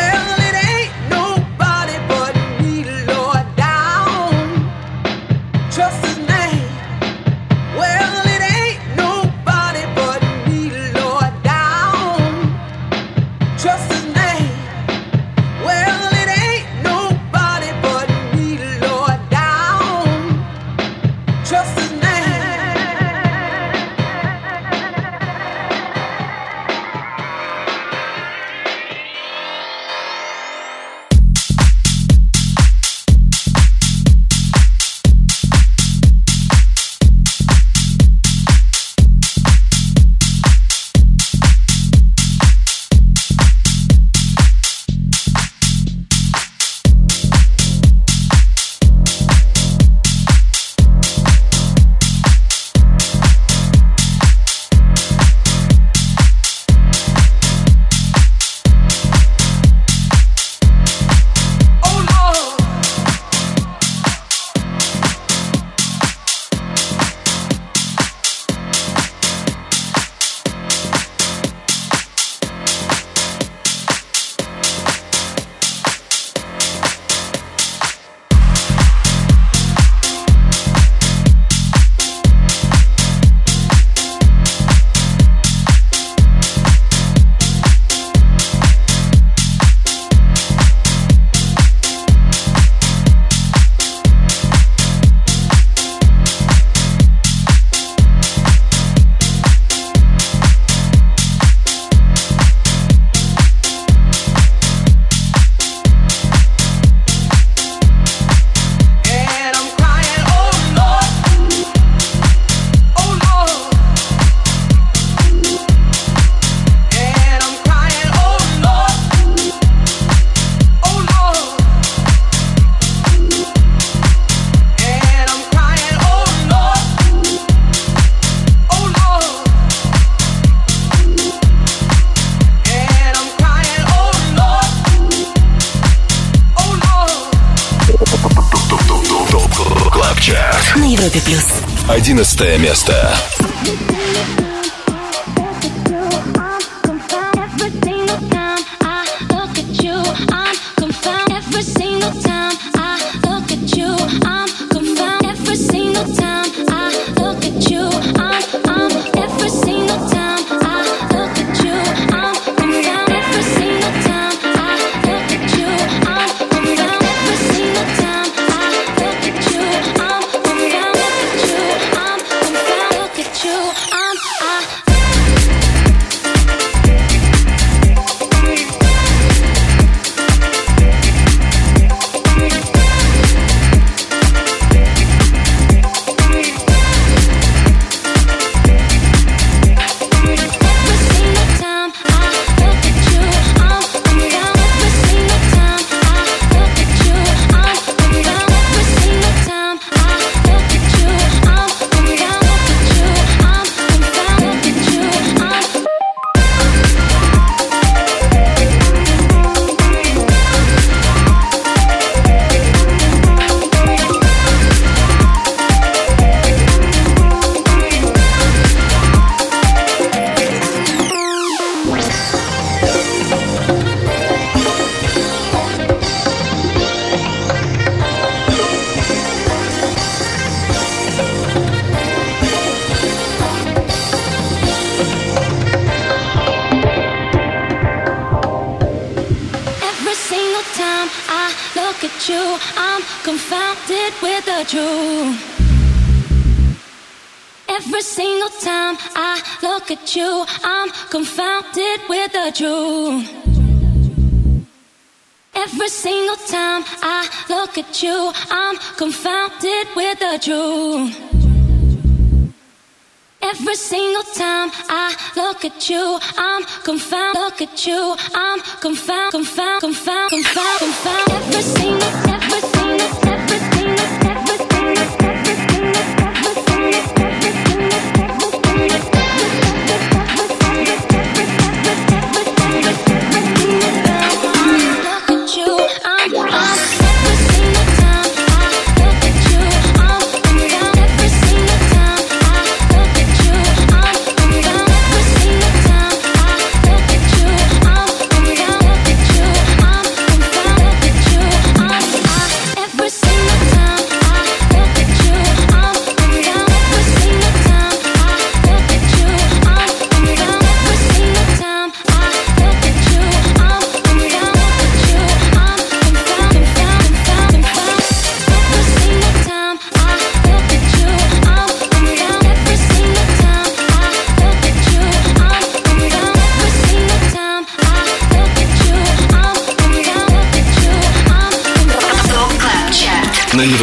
[SPEAKER 1] На Европе Плюс.
[SPEAKER 2] Одиннадцатое место.
[SPEAKER 13] Every single time I look at you, I'm confounded with the truth. Every single time I look at you, I'm confounded with the truth. Every single time I look at you, I'm confounded. Look at you, I'm confounded, confounded, confounded, confounded, confounded. Every single, every single, every single, every single, every single, every single. Every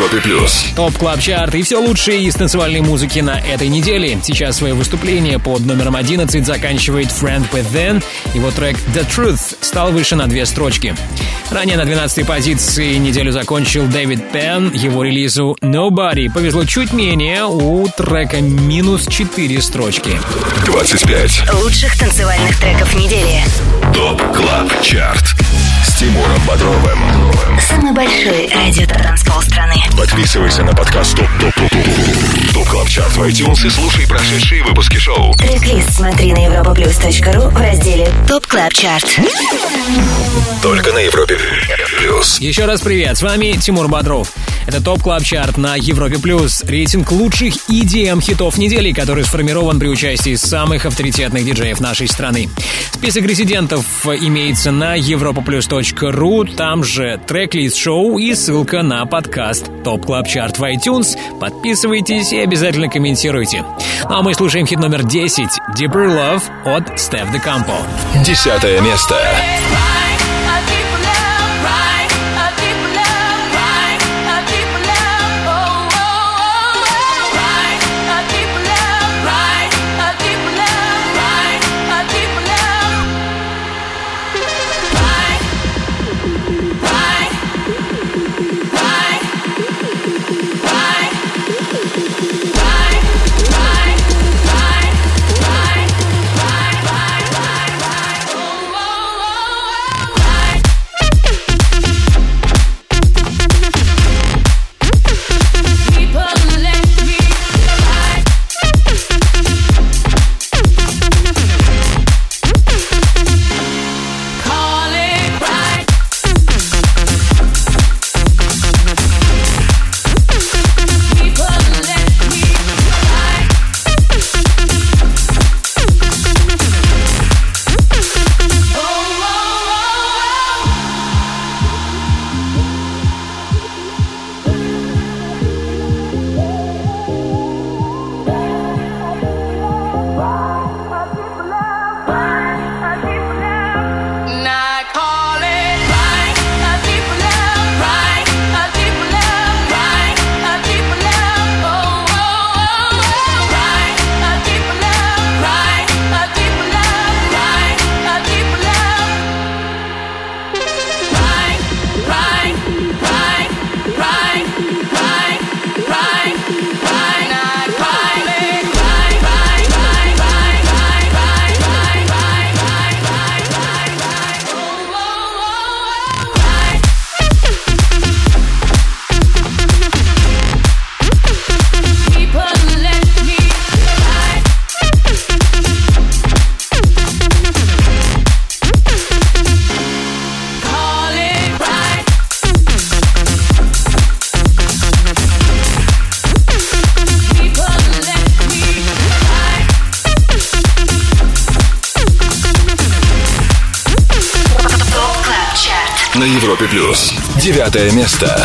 [SPEAKER 2] Европе плюс.
[SPEAKER 3] Топ Клаб Чарт и все лучшее из танцевальной музыки на этой неделе. Сейчас свое выступление под номером одиннадцать заканчивает Friend With Then. Его трек The Truth стал выше на две строчки. Ранее на двенадцатой позиции неделю закончил Дэвид Пен. Его релизу Nobody повезло чуть менее, у трека минус четыре строчки.
[SPEAKER 2] двадцать пять
[SPEAKER 1] лучших танцевальных треков недели.
[SPEAKER 2] Топ Клаб Чарт с Тимуром Бодровым.
[SPEAKER 1] Самый большой радио-транспол страны.
[SPEAKER 2] Подписывайся на подкаст ТОП ТОП ТОП ТОП ТОП Клаб Чарт в iTunes и слушай прошедшие выпуски шоу.
[SPEAKER 1] Трек-лист смотри на европаплюс точка ру в разделе Топ Клаб Чарт.
[SPEAKER 2] Только на Европе плюс.
[SPEAKER 3] Еще раз привет, с вами Тимур Бодров. Это Топ Клаб Чарт на Европе плюс. Рейтинг лучших и ди эм хитов недели, который сформирован при участии самых авторитетных диджеев нашей страны. Список резидентов имеется на европаплюс точка ру. Там же трек-лист шоу и ссылка на подкаст Топ Клаб Чарт в iTunes. Подписывайтесь и обязательно комментируйте. Ну а мы слушаем хит номер десять Deeper Love от Стеф де Кампо.
[SPEAKER 2] Десятое место. На Европе плюс. Девятое место.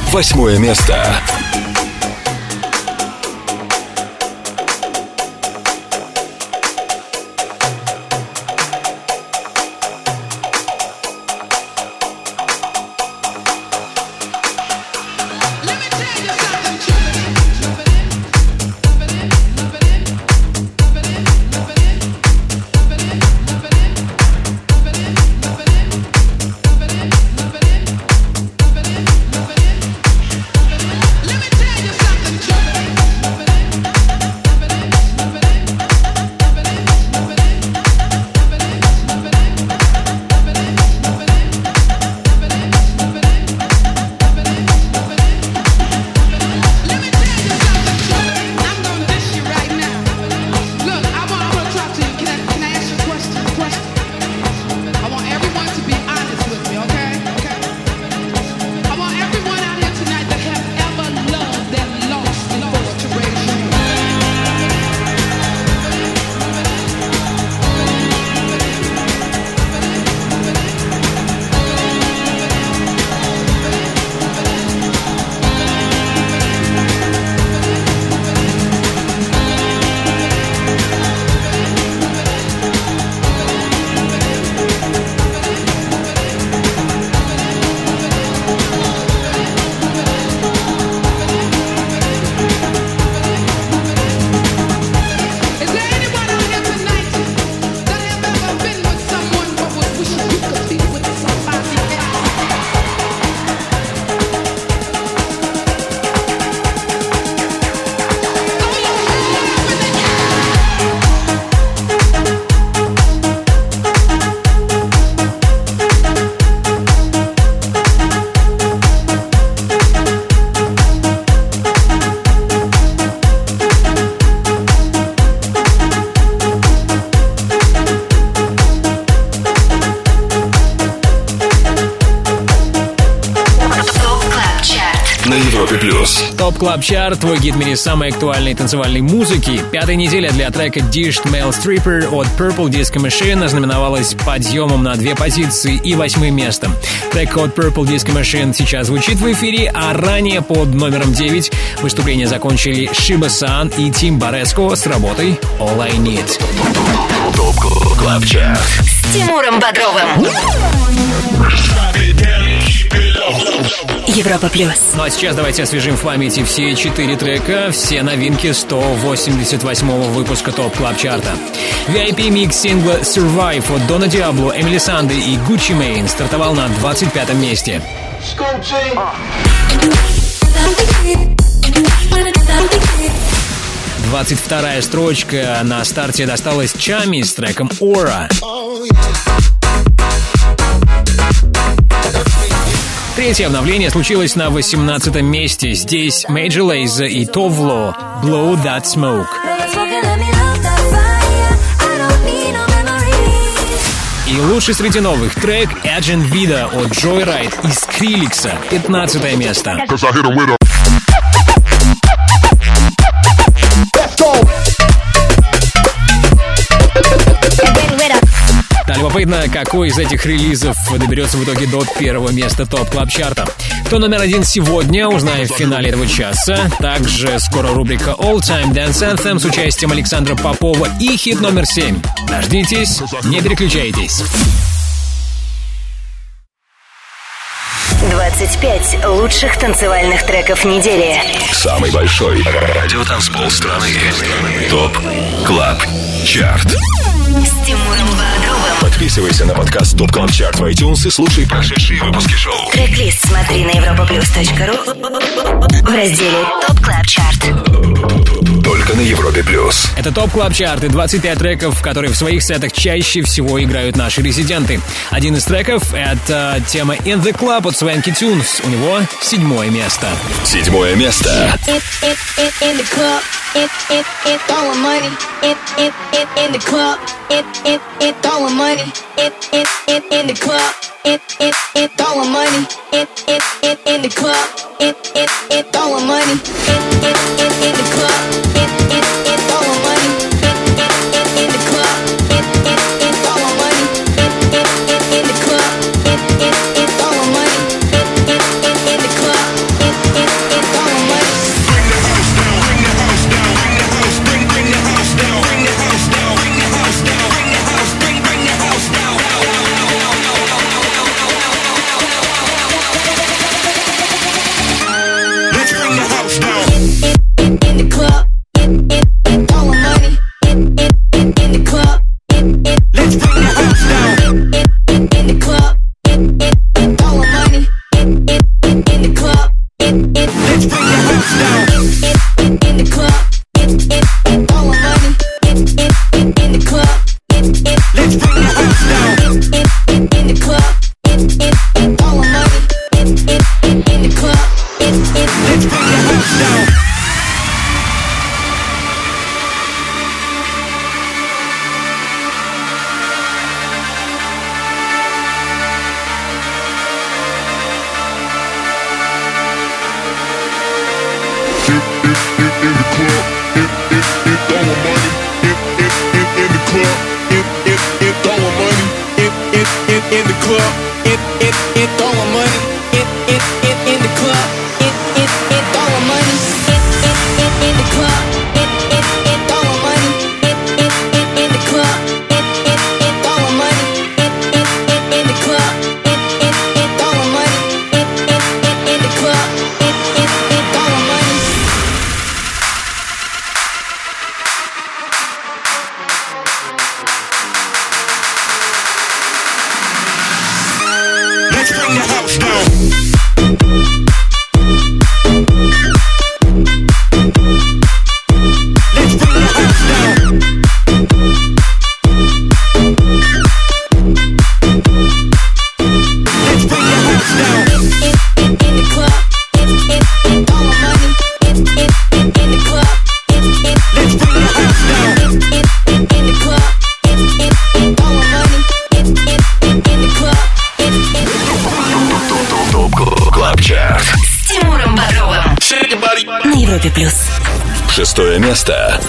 [SPEAKER 2] Восьмое место.
[SPEAKER 3] Топ Клаб Чарт, твой гид в мире самой актуальной танцевальной музыки. Пятая неделя для трека Dished Male Stripper от Purple Disco Machine ознаменовалась подъемом на две позиции и восьмым местом. Трек от Purple Disco Machine сейчас звучит в эфире, а ранее под номером девять выступление закончили Shiba San и Тим Бареско с работой All I Need.
[SPEAKER 2] Топ Клаб Чарт
[SPEAKER 1] с Тимуром Бодровым. Европа плюс.
[SPEAKER 3] Ну а сейчас давайте освежим в памяти все четыре трека, все новинки сто восемьдесят восьмого выпуска Топ Клаб Чарта. ви ай пи микс сингла Survive от Дона Диабло, Эмили Санды и Gucci Mane стартовал на двадцать пятом месте. двадцать вторая строчка на старте досталась Чами с треком Aura. Третье обновление случилось на восемнадцатом месте. Здесь Major Lazer и Tovlo Blow That Smoke. И лучший среди новых трек Agent Vida от Joyride и Skrillex. пятнадцатое место. Да, любопытно, какой из этих релизов доберется в итоге до первого места Топ Клаб Чарта. Кто номер один сегодня, узнаем в финале этого часа. Также скоро рубрика All Time Dance Anthem с участием Александра Попова и хит номер семь. Дождитесь, не переключайтесь.
[SPEAKER 1] двадцать пять лучших танцевальных треков недели.
[SPEAKER 2] Самый большой радиотанцпол страны. Топ Клаб Чарт.
[SPEAKER 1] С Тимуром Бодровым.
[SPEAKER 2] Подписывайся на подкаст Топ Клаб Чарт в iTunes и слушай прошедшие выпуски шоу.
[SPEAKER 1] Трек-лист смотри на европаплюс точка ру в разделе Топ Клаб Чарт.
[SPEAKER 2] Только на Европе плюс.
[SPEAKER 3] Это Топ Клаб Чарт и двадцать пять треков, которые в своих сетах чаще всего играют наши резиденты. Один из треков — это тема In The Club от Swanky Tunes. У него седьмое место.
[SPEAKER 2] Седьмое место.
[SPEAKER 13] It, it, it, throwing money. It, it, it, in the club. It, it, it, throwing money. It, it, it, in the club. It, it, it, throwing money. It, it, it, in the club. It, it, it, throwing money. It, it, it, in the club. It, it, it, throwing money. It, it, it, in the club. It, it, it, throwing money. It, it, it, in the club. It, it, it, throwing money. It, it, it, in the club. It,
[SPEAKER 2] Шестое место.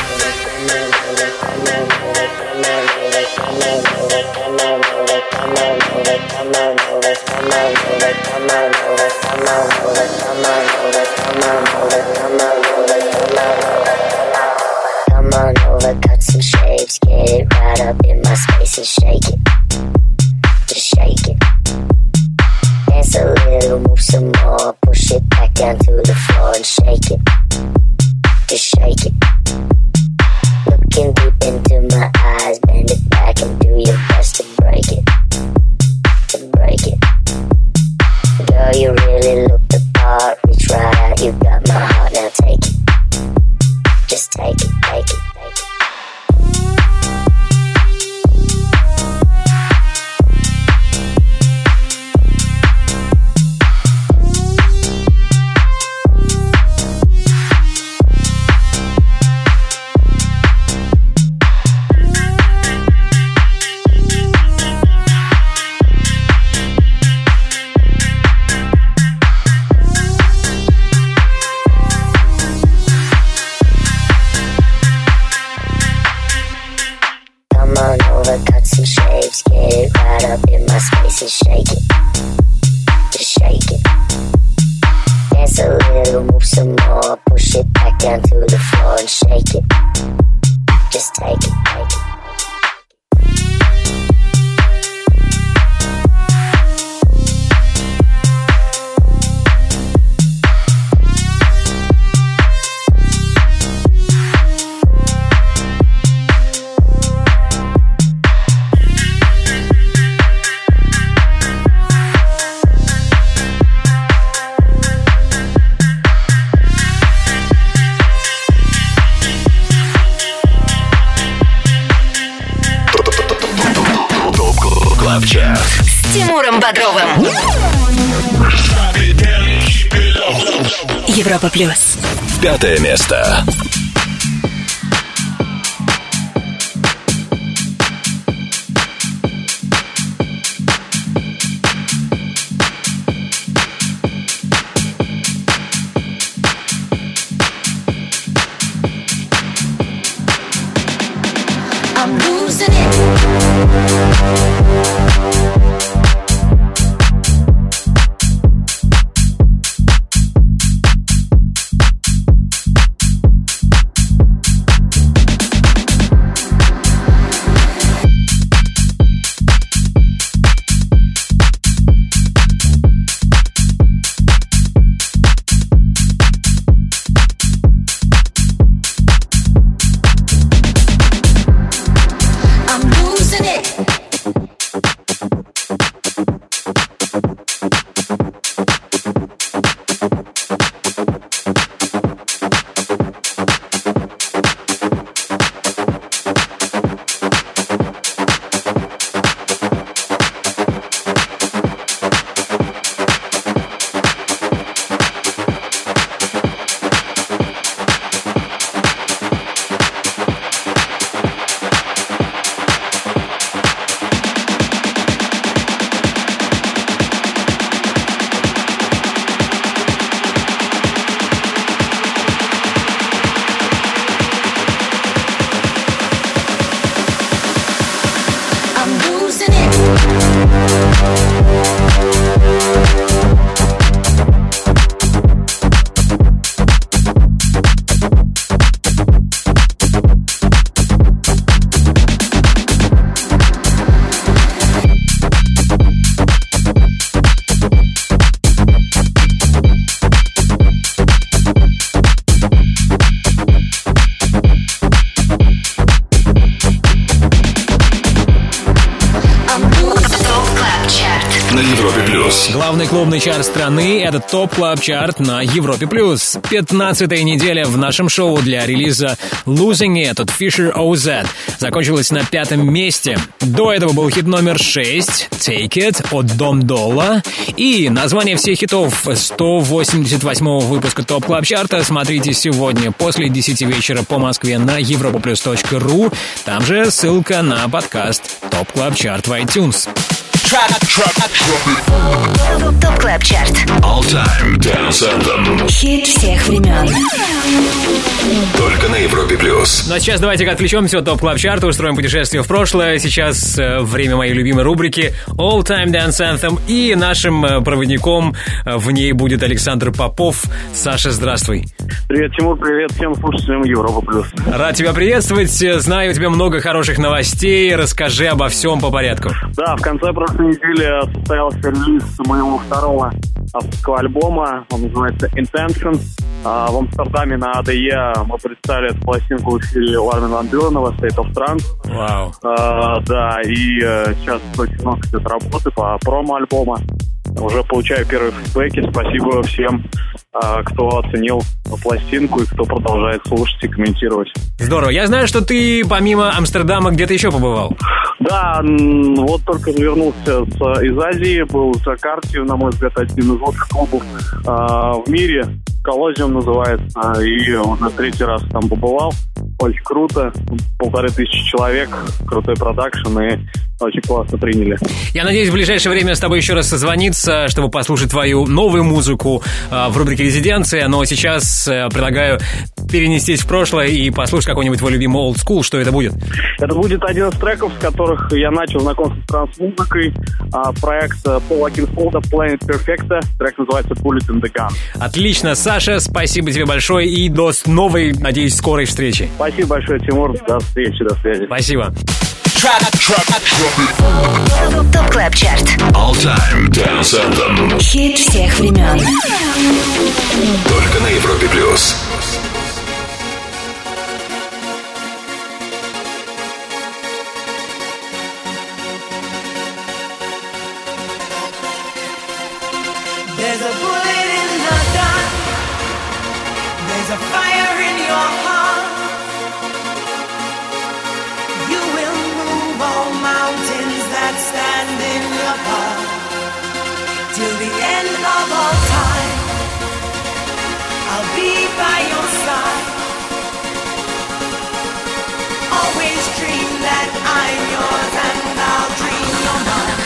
[SPEAKER 1] С Тимуром Бодровым. Европа плюс.
[SPEAKER 2] Пятое место.
[SPEAKER 13] I'm losing it.
[SPEAKER 3] главный клубный чарт страны. Это ТОП Клаб Чарт на Европе+. пятнадцатая неделя в нашем шоу для релиза Losing It от Fisher о зет. Закончилась на пятом месте. До этого был хит номер шесть Take It от Дом Долла. И название всех хитов сто восемьдесят восьмого выпуска ТОП Клаб Чарта смотрите сегодня после десяти вечера по Москве на европлюс точка ру. Там же ссылка на подкаст ТОП Клаб Чарт в iTunes.
[SPEAKER 1] ТОП Клаб Чарт.
[SPEAKER 2] All Time Dance Anthem.
[SPEAKER 1] Хит всех времен.
[SPEAKER 2] Только на Европе плюс.
[SPEAKER 3] Ну а сейчас давайте-ка отвлечемся от ТОП Клаб Чарта, устроим путешествие в прошлое. Сейчас э, время моей любимой рубрики All Time Dance Anthem. И нашим э, проводником э, в ней будет Александр Попов. Саша, здравствуй.
[SPEAKER 10] Привет, Тимур, привет всем слушателям Европа плюс.
[SPEAKER 3] Рад тебя приветствовать. Знаю, у тебя много хороших новостей. Расскажи обо всем по порядку.
[SPEAKER 10] Да, в конце прошлой недели состоялся релиз моего второго авторского альбома. Он называется Intention. А в Амстердаме на АДЕ мы представили эту пластинку в эфире у Армина ван Бюрена State of Trance.
[SPEAKER 3] Вау.
[SPEAKER 10] А, да, и а, сейчас очень много идет работы по промо-альбома. Уже получаю первые фидбэки. Спасибо всем, а, кто оценил пластинку и кто продолжает слушать и комментировать.
[SPEAKER 3] Здорово. Я знаю, что ты помимо Амстердама где-то еще побывал.
[SPEAKER 10] Да, вот только вернулся с, из Азии, был в Джакарте, на мой взгляд, один из лучших клубов э, в мире. Коллозиум называется, и уже третий раз там побывал. Очень круто, полторы тысячи человек, крутой продакшн, и очень классно приняли.
[SPEAKER 3] Я надеюсь, в ближайшее время с тобой еще раз созвониться, чтобы послушать твою новую музыку э, в рубрике «Резиденция», но сейчас э, предлагаю перенестись в прошлое и послушать какой-нибудь твой любимый old school. Что это будет?
[SPEAKER 10] Это будет один из треков, с которых я начал знакомство с транс-музыкой. А, проект Пола Кинфолда Planet Perfecta. Трек называется Bullet in the Gun.
[SPEAKER 3] Отлично, Саша, спасибо тебе большое и до новой, надеюсь, скорой встречи.
[SPEAKER 10] Спасибо большое, Тимур. До встречи, до связи.
[SPEAKER 3] Спасибо.
[SPEAKER 1] ТОП Клаб Чарт.
[SPEAKER 2] All Time Dance Anthem.
[SPEAKER 1] Хит всех времен.
[SPEAKER 2] Только на Европе плюс.
[SPEAKER 12] There's a bullet in the gun. There's a fire in your heart. You will move all mountains that stand in your path. Till the end of all time, I'll be by your side. Always dream that I'm yours and I'll dream you're mine.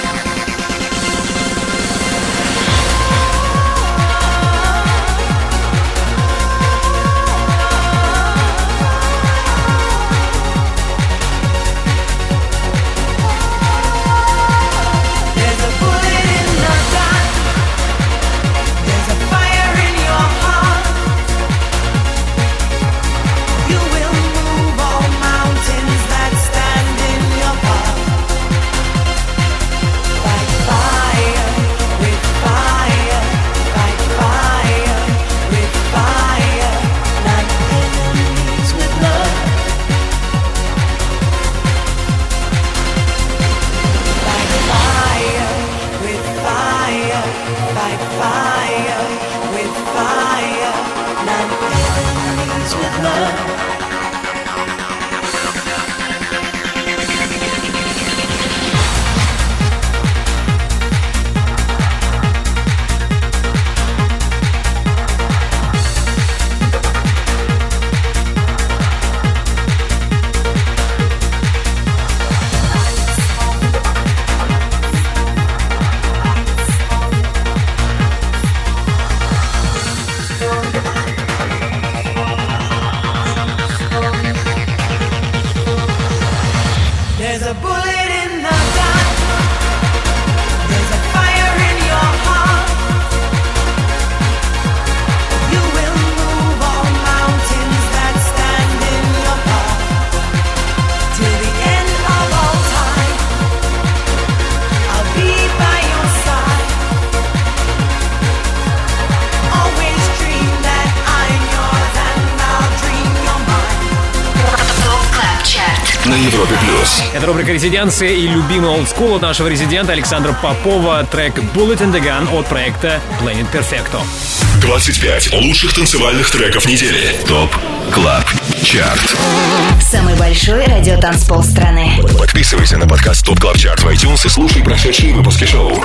[SPEAKER 2] Европе плюс.
[SPEAKER 3] Это рубрика «Резиденция» и любимый олдскул от нашего резидента Александра Попова. Трек «Bullet in the Gun» от проекта Planet Perfecto.
[SPEAKER 2] двадцать пять лучших танцевальных треков недели. ТОП Клаб Чарт.
[SPEAKER 1] Самый большой радиотанцпол страны.
[SPEAKER 2] Подписывайся на подкаст ТОП Клаб Чарт в iTunes и слушай прошедшие выпуски шоу.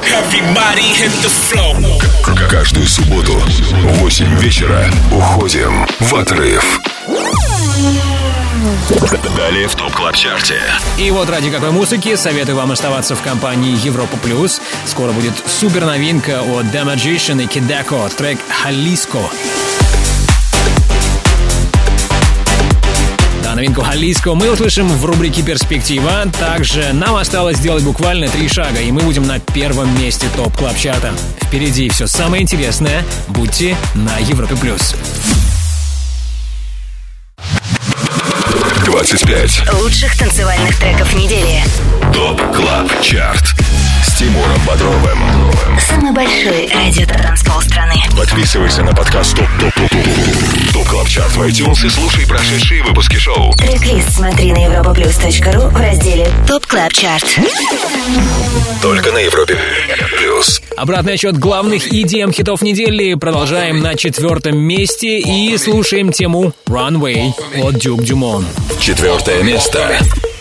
[SPEAKER 2] К- Каждую субботу в восемь вечера уходим в отрыв. Далее в ТОП Клаб Чарте.
[SPEAKER 3] И вот ради какой музыки советую вам оставаться в компании Европа Плюс. Скоро будет супер новинка от The Magician и Kidako, трек «Jalisco». Да, новинку «Jalisco» мы услышим в рубрике «Перспектива». Также нам осталось сделать буквально три шага, и мы будем на первом месте ТОП Клаб Чарта. Впереди все самое интересное. Будьте на Европе Плюс.
[SPEAKER 2] двадцать пять
[SPEAKER 1] Лучших танцевальных треков недели.
[SPEAKER 2] ТОП Клаб Чарт с Тимуром Бодровым.
[SPEAKER 1] Самый большой радиотанцпол страны.
[SPEAKER 2] Подписывайся на подкаст ТОП ТОП ТОП ТОП ТОП Клаб Чарт в iTunes и слушай прошедшие выпуски шоу.
[SPEAKER 1] Трек-лист смотри на европаплюс точка ру в разделе ТОП Клаб Чарт.
[SPEAKER 2] Только на Европе Плюс.
[SPEAKER 3] Обратный отчет главных и ди эм-хитов недели. Продолжаем на четвертом месте и слушаем тему «Runway» от Duke Dumont.
[SPEAKER 2] Четвертое место.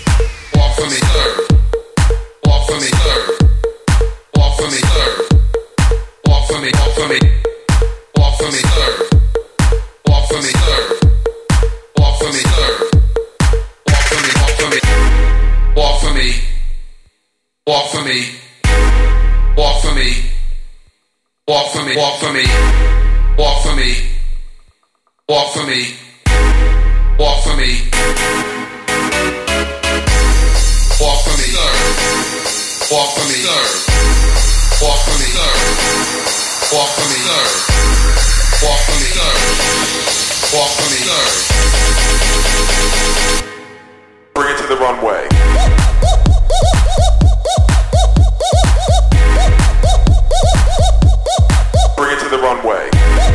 [SPEAKER 5] Walk for me, walk for me, walk for me, walk for me, walk for me, walk for me, walk for me, walk for me, walk for me, walk for me, walk for me, walk for me, walk for me, bring it to the runway. Bring it to the runway.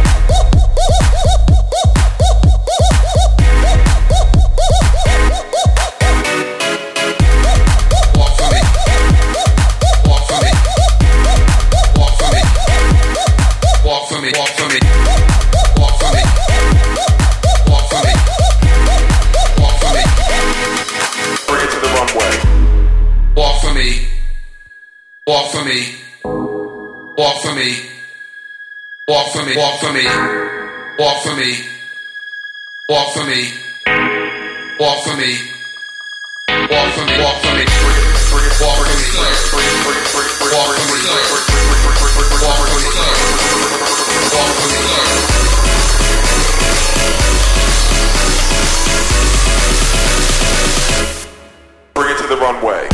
[SPEAKER 5] Walk for me. Walk for me. Walk for me. Walk for me. Walk for me. Walk for me. Walk for me. Walk for me. Bring it to the runway. Walk for me. Walk for me. Walk for me. Walk for me, walk for me, walk for me, walk for me, walk for me, walk for me, walk for me, walk for me, walk for me, walk for me, walk for me. Bring it to the runway.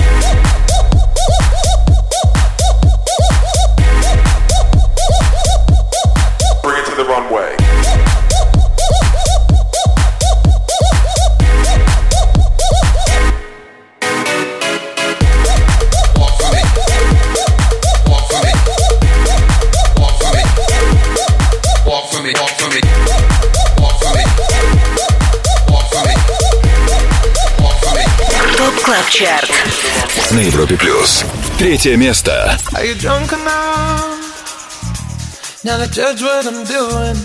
[SPEAKER 5] The runway. Walk for me. Walk for me. Walk for me. Walk for me. Walk for me. Walk for me. Walk for me. Walk for me.
[SPEAKER 1] ТОП Клаб Чарт.
[SPEAKER 2] На Европе Плюс. Третье место.
[SPEAKER 12] Are you drunk enough now to judge what I'm doing?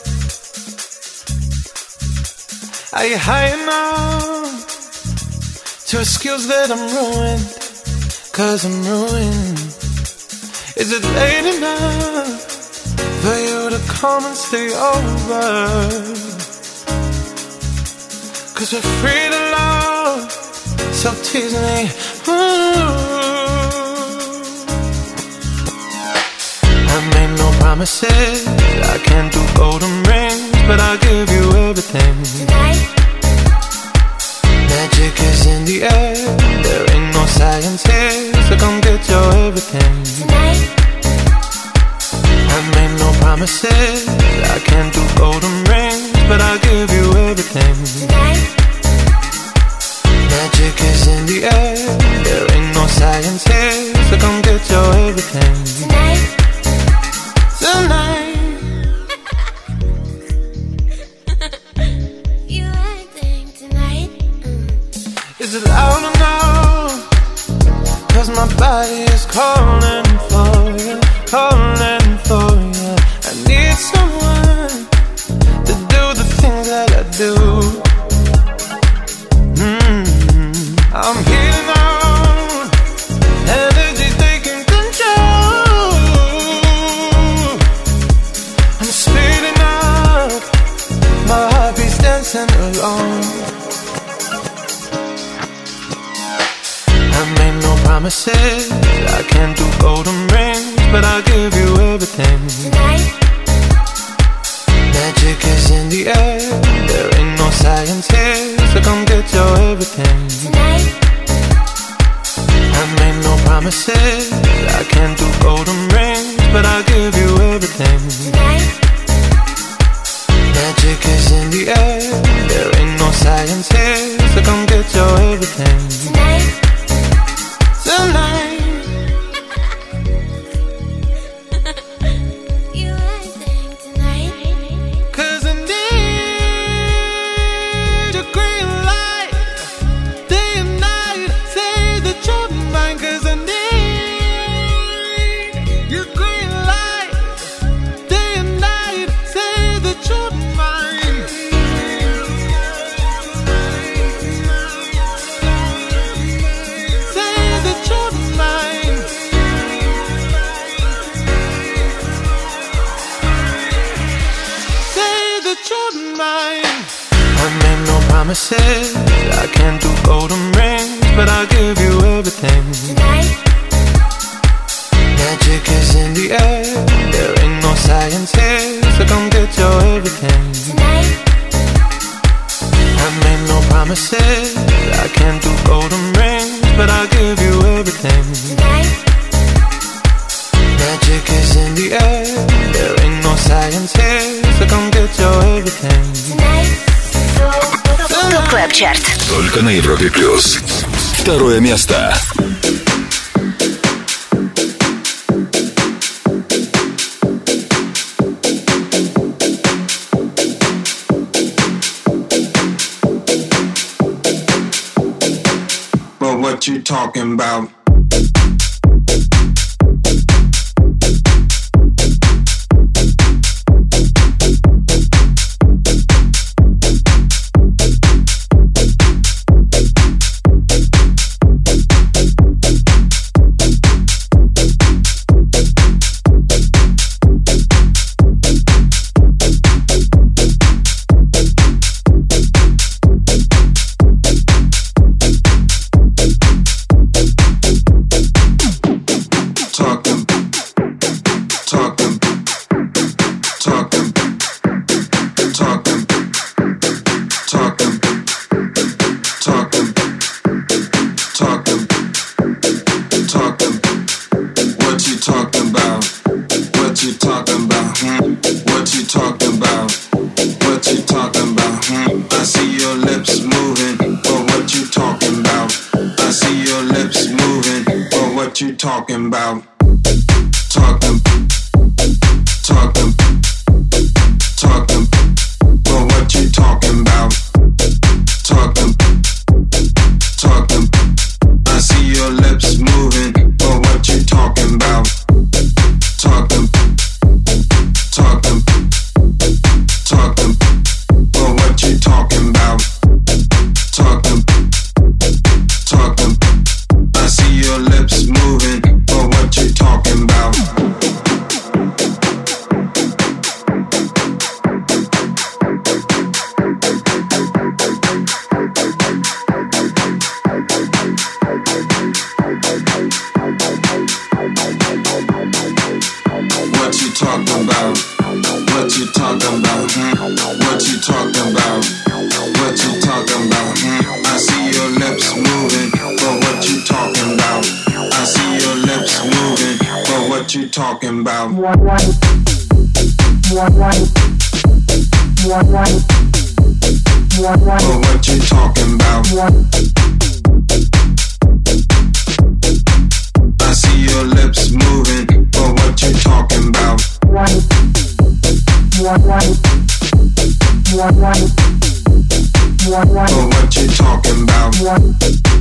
[SPEAKER 12] Are you high enough to excuse that I'm ruined? Cause I'm ruined. Is it late enough for you to come and stay over? Cause we're free to love, so tease me. Ooh. I made no promises, I can't do golden rings, but I'll give you everything. Tonight. Magic is in the air, there ain't no science here, so come get your everything. Tonight. I made no promises, I can't do golden rings, but I'll give you everything. Tonight. Magic is in the air, there ain't no science here, so come get your everything. Tonight. Tonight. You acting tonight. Mm. Is is it loud enough? Cause my body is calling for you, calling for you. I need someone to do the things that I do. Mm-hmm. I'm here now, energy's taking control. I'm speeding up, my heartbeat's dancing along. I made no promises, I can't do golden rings, but I'll give you everything. Tonight. Magic is in the air, there ain't no science here, so come get your everything. Tonight. I made no promises, I can't do golden rings, but I'll give you everything. Tonight. Magic is in the air, there ain't no science here, so come get your everything. Tonight. Tonight. You everything tonight. Cause I need your green light, day and night. Say that you're mine. Cause I need your green light, day and night. Say that you're mine. Say that you're mine. Say that you're mine. I made no promises, I can't do golden rings, but I'll give you everything. Tonight. Magic is in the air, there ain't no science here, so come get your everything. Tonight. I made no promises, I can't do golden rings, but I'll give you everything. Tonight. Magic is in the air, there ain't no science here, so come get your everything. Tonight.
[SPEAKER 1] Топ Клаб Чарт.
[SPEAKER 2] Только на Европе Плюс. Второе место.
[SPEAKER 12] But what you talking about? Talking about, talking, talking, talking, but what you talking about? Talking, talking, I see your lips moving, but what you talking about? Talking, talking, talking, but what you talking about? Talking, talking, I see your lips moving. What you talking about? What you talking about? What you talking about? Hmm? What you talking about? What you talking about? Hmm? I see your lips moving, but what you talking about? I see your lips moving, but what you talking about? But what you talking about? I see your lips moving, but what you talking about? But what you talking about?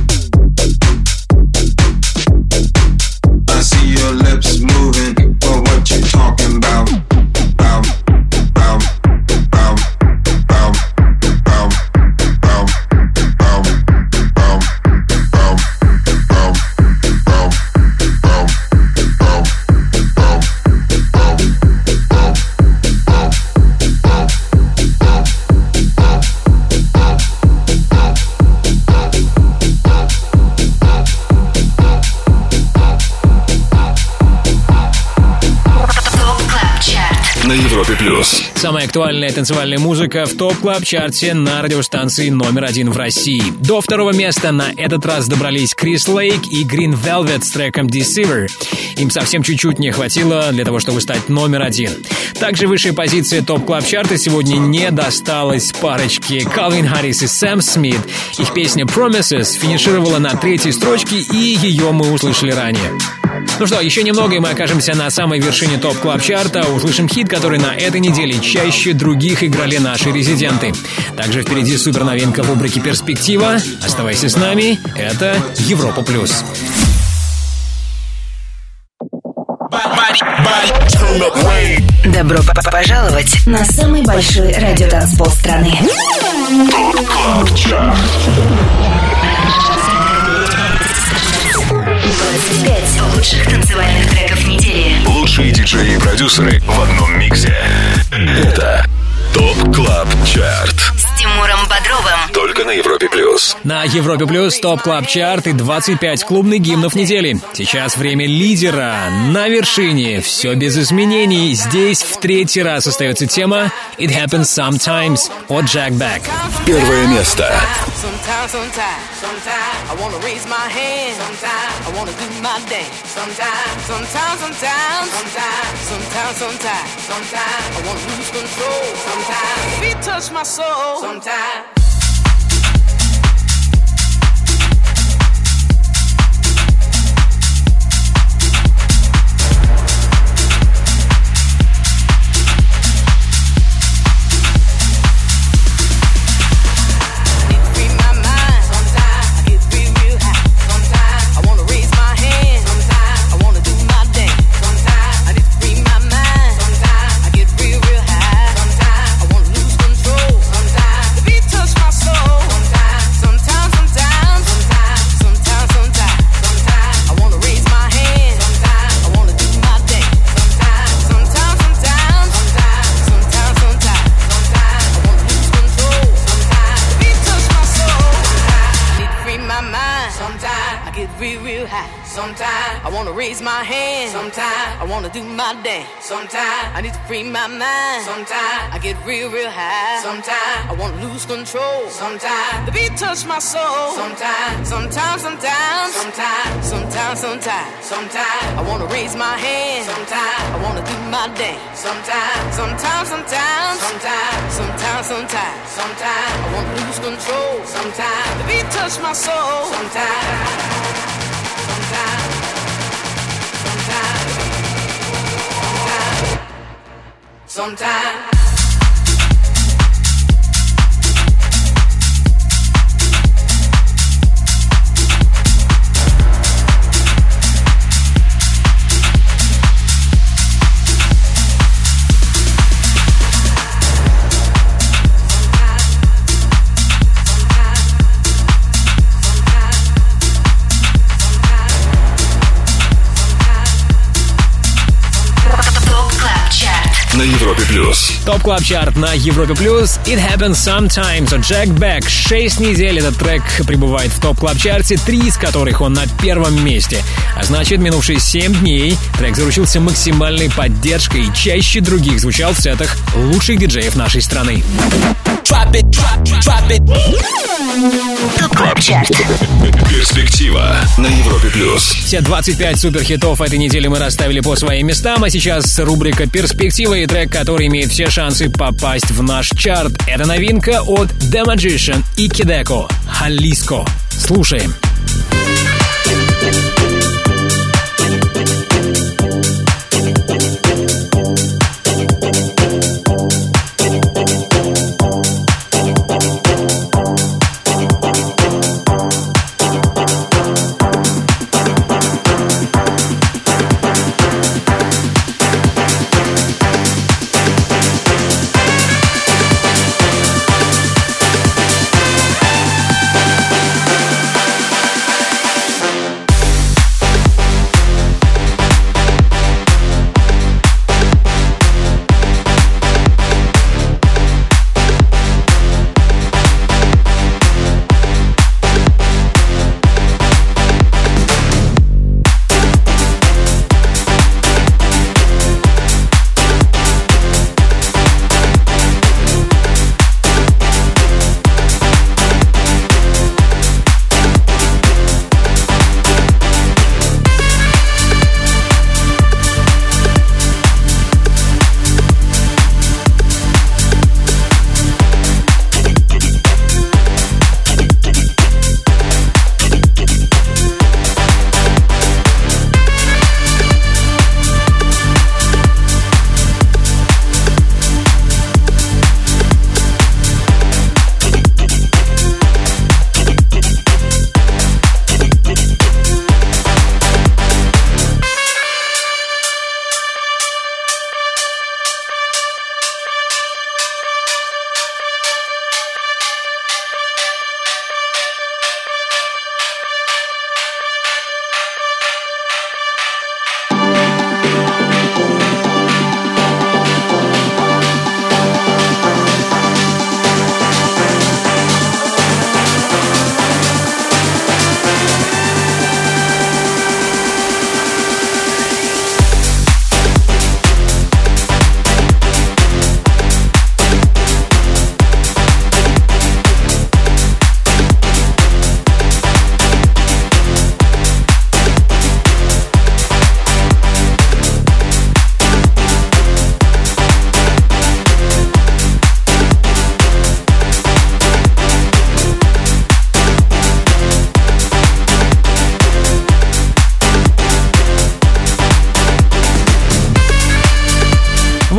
[SPEAKER 2] плюс.
[SPEAKER 3] Самая актуальная танцевальная музыка в ТОП Клаб Чарте на радиостанции номер один в России. До второго места на этот раз добрались Крис Лейк и Green Velvet с треком Deceiver. Им совсем чуть-чуть не хватило для того, чтобы стать номер один. Также высшая позиция ТОП Клаб Чарта сегодня не досталась парочке Калвин Харрис и Сэм Смит. Их песня Promises финишировала на третьей строчке, и ее мы услышали ранее. Ну что, еще немного, и мы окажемся на самой вершине ТОП Клаб Чарта. Услышим хит, который на этой неделе чаще других играли наши резиденты. Также впереди суперновинка в рубрике «Перспектива». Оставайся с нами, это Европа Плюс.
[SPEAKER 1] Добро п- пожаловать на самый большой радиотанцпол страны.
[SPEAKER 2] ТОП Клаб Чарт.
[SPEAKER 1] двадцать пять лучших танцевальных треков недели.
[SPEAKER 2] Лучшие диджеи и продюсеры в одном миксе. Это ТОП Клаб Чарт.
[SPEAKER 1] С Тимуром Бодровым.
[SPEAKER 2] Только на Европе Плюс.
[SPEAKER 3] На Европе Плюс ТОП Клаб Чарт и двадцать пять клубных гимнов недели. Сейчас время лидера. На вершине. Все без изменений. Здесь в третий раз остается тема It Happens Sometimes от Jack Beck.
[SPEAKER 2] Первое место.
[SPEAKER 16] Sometimes, sometimes, sometimes I wanna raise my hand. Sometimes I wanna do my dance. Sometimes, sometimes, sometimes, sometimes, sometimes, sometimes, sometimes I wanna lose control. Sometimes feet touch my soul. Sometimes. Sometimes I need to free my mind. Sometimes I get real, real high. Sometimes I wanna lose control. Sometimes the beat touch my soul. Sometimes, sometimes, sometimes, sometimes, sometimes, sometimes, sometimes I wanna raise my hand. Sometimes I wanna do my dance. Sometimes, sometimes, sometimes, sometimes, sometimes, sometimes, sometimes I wanna lose control. Sometimes the beat touch my soul. Sometimes, sometimes, sometimes. Sometimes
[SPEAKER 2] на Европе Плюс.
[SPEAKER 3] ТОП Клаб Чарт на Европе Плюс. It Happens Sometimes от Jack Beck. Шесть недель этот трек пребывает в ТОП Клаб Чарте, три из которых он на первом месте. А значит, минувшие семь дней трек заручился максимальной поддержкой и чаще других звучал в сетах лучших диджеев нашей страны.
[SPEAKER 1] ТОП Клаб Чарт.
[SPEAKER 2] Перспектива на Европе Плюс.
[SPEAKER 3] Все двадцать пять суперхитов этой недели мы расставили по своим местам, а сейчас рубрика «Перспектива» и трек, который имеет все шансы попасть в наш чарт. Это новинка от The Magician и Kideko «Jalisco». Слушаем.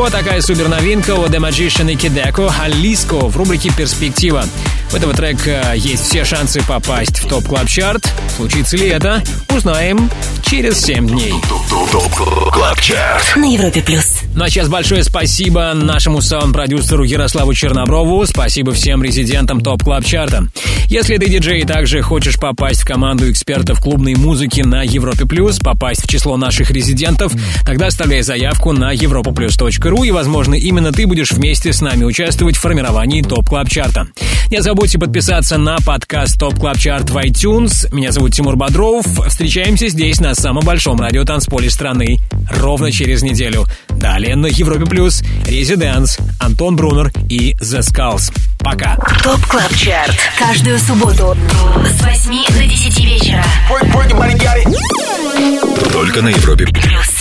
[SPEAKER 3] вот такая супер новинка у The Magician и Kideko «Алиско» в рубрике «Перспектива». У этого трека есть все шансы попасть в ТОП Клаб Чарт. Случится ли это, узнаем через семь дней.
[SPEAKER 2] ТОП Клаб Чарт
[SPEAKER 1] на Европе плюс.
[SPEAKER 3] Ну а сейчас большое спасибо нашему саунд-продюсеру Ярославу Черноброву. Спасибо всем резидентам ТОП Клаб Чарта. Если ты диджей и также хочешь попасть в команду экспертов клубной музыки на Европе плюс, попасть в число наших резидентов, тогда оставляй заявку на европа плюс точка ру, и, возможно, именно ты будешь вместе с нами участвовать в формировании ТОП Клаб Чарта. Не забудьте подписаться на подкаст ТОП Клаб Чарт в iTunes. Меня зовут Тимур Бодров. Встречаемся здесь, на самом большом радиотанцполе страны, ровно через неделю. Далее на Европе плюс Резиденс, Антон Брунер и The Skulls. Пока.
[SPEAKER 1] ТОП Клаб Чарт. Каждую субботу с восьми до десяти вечера.
[SPEAKER 2] Только на Европе плюс.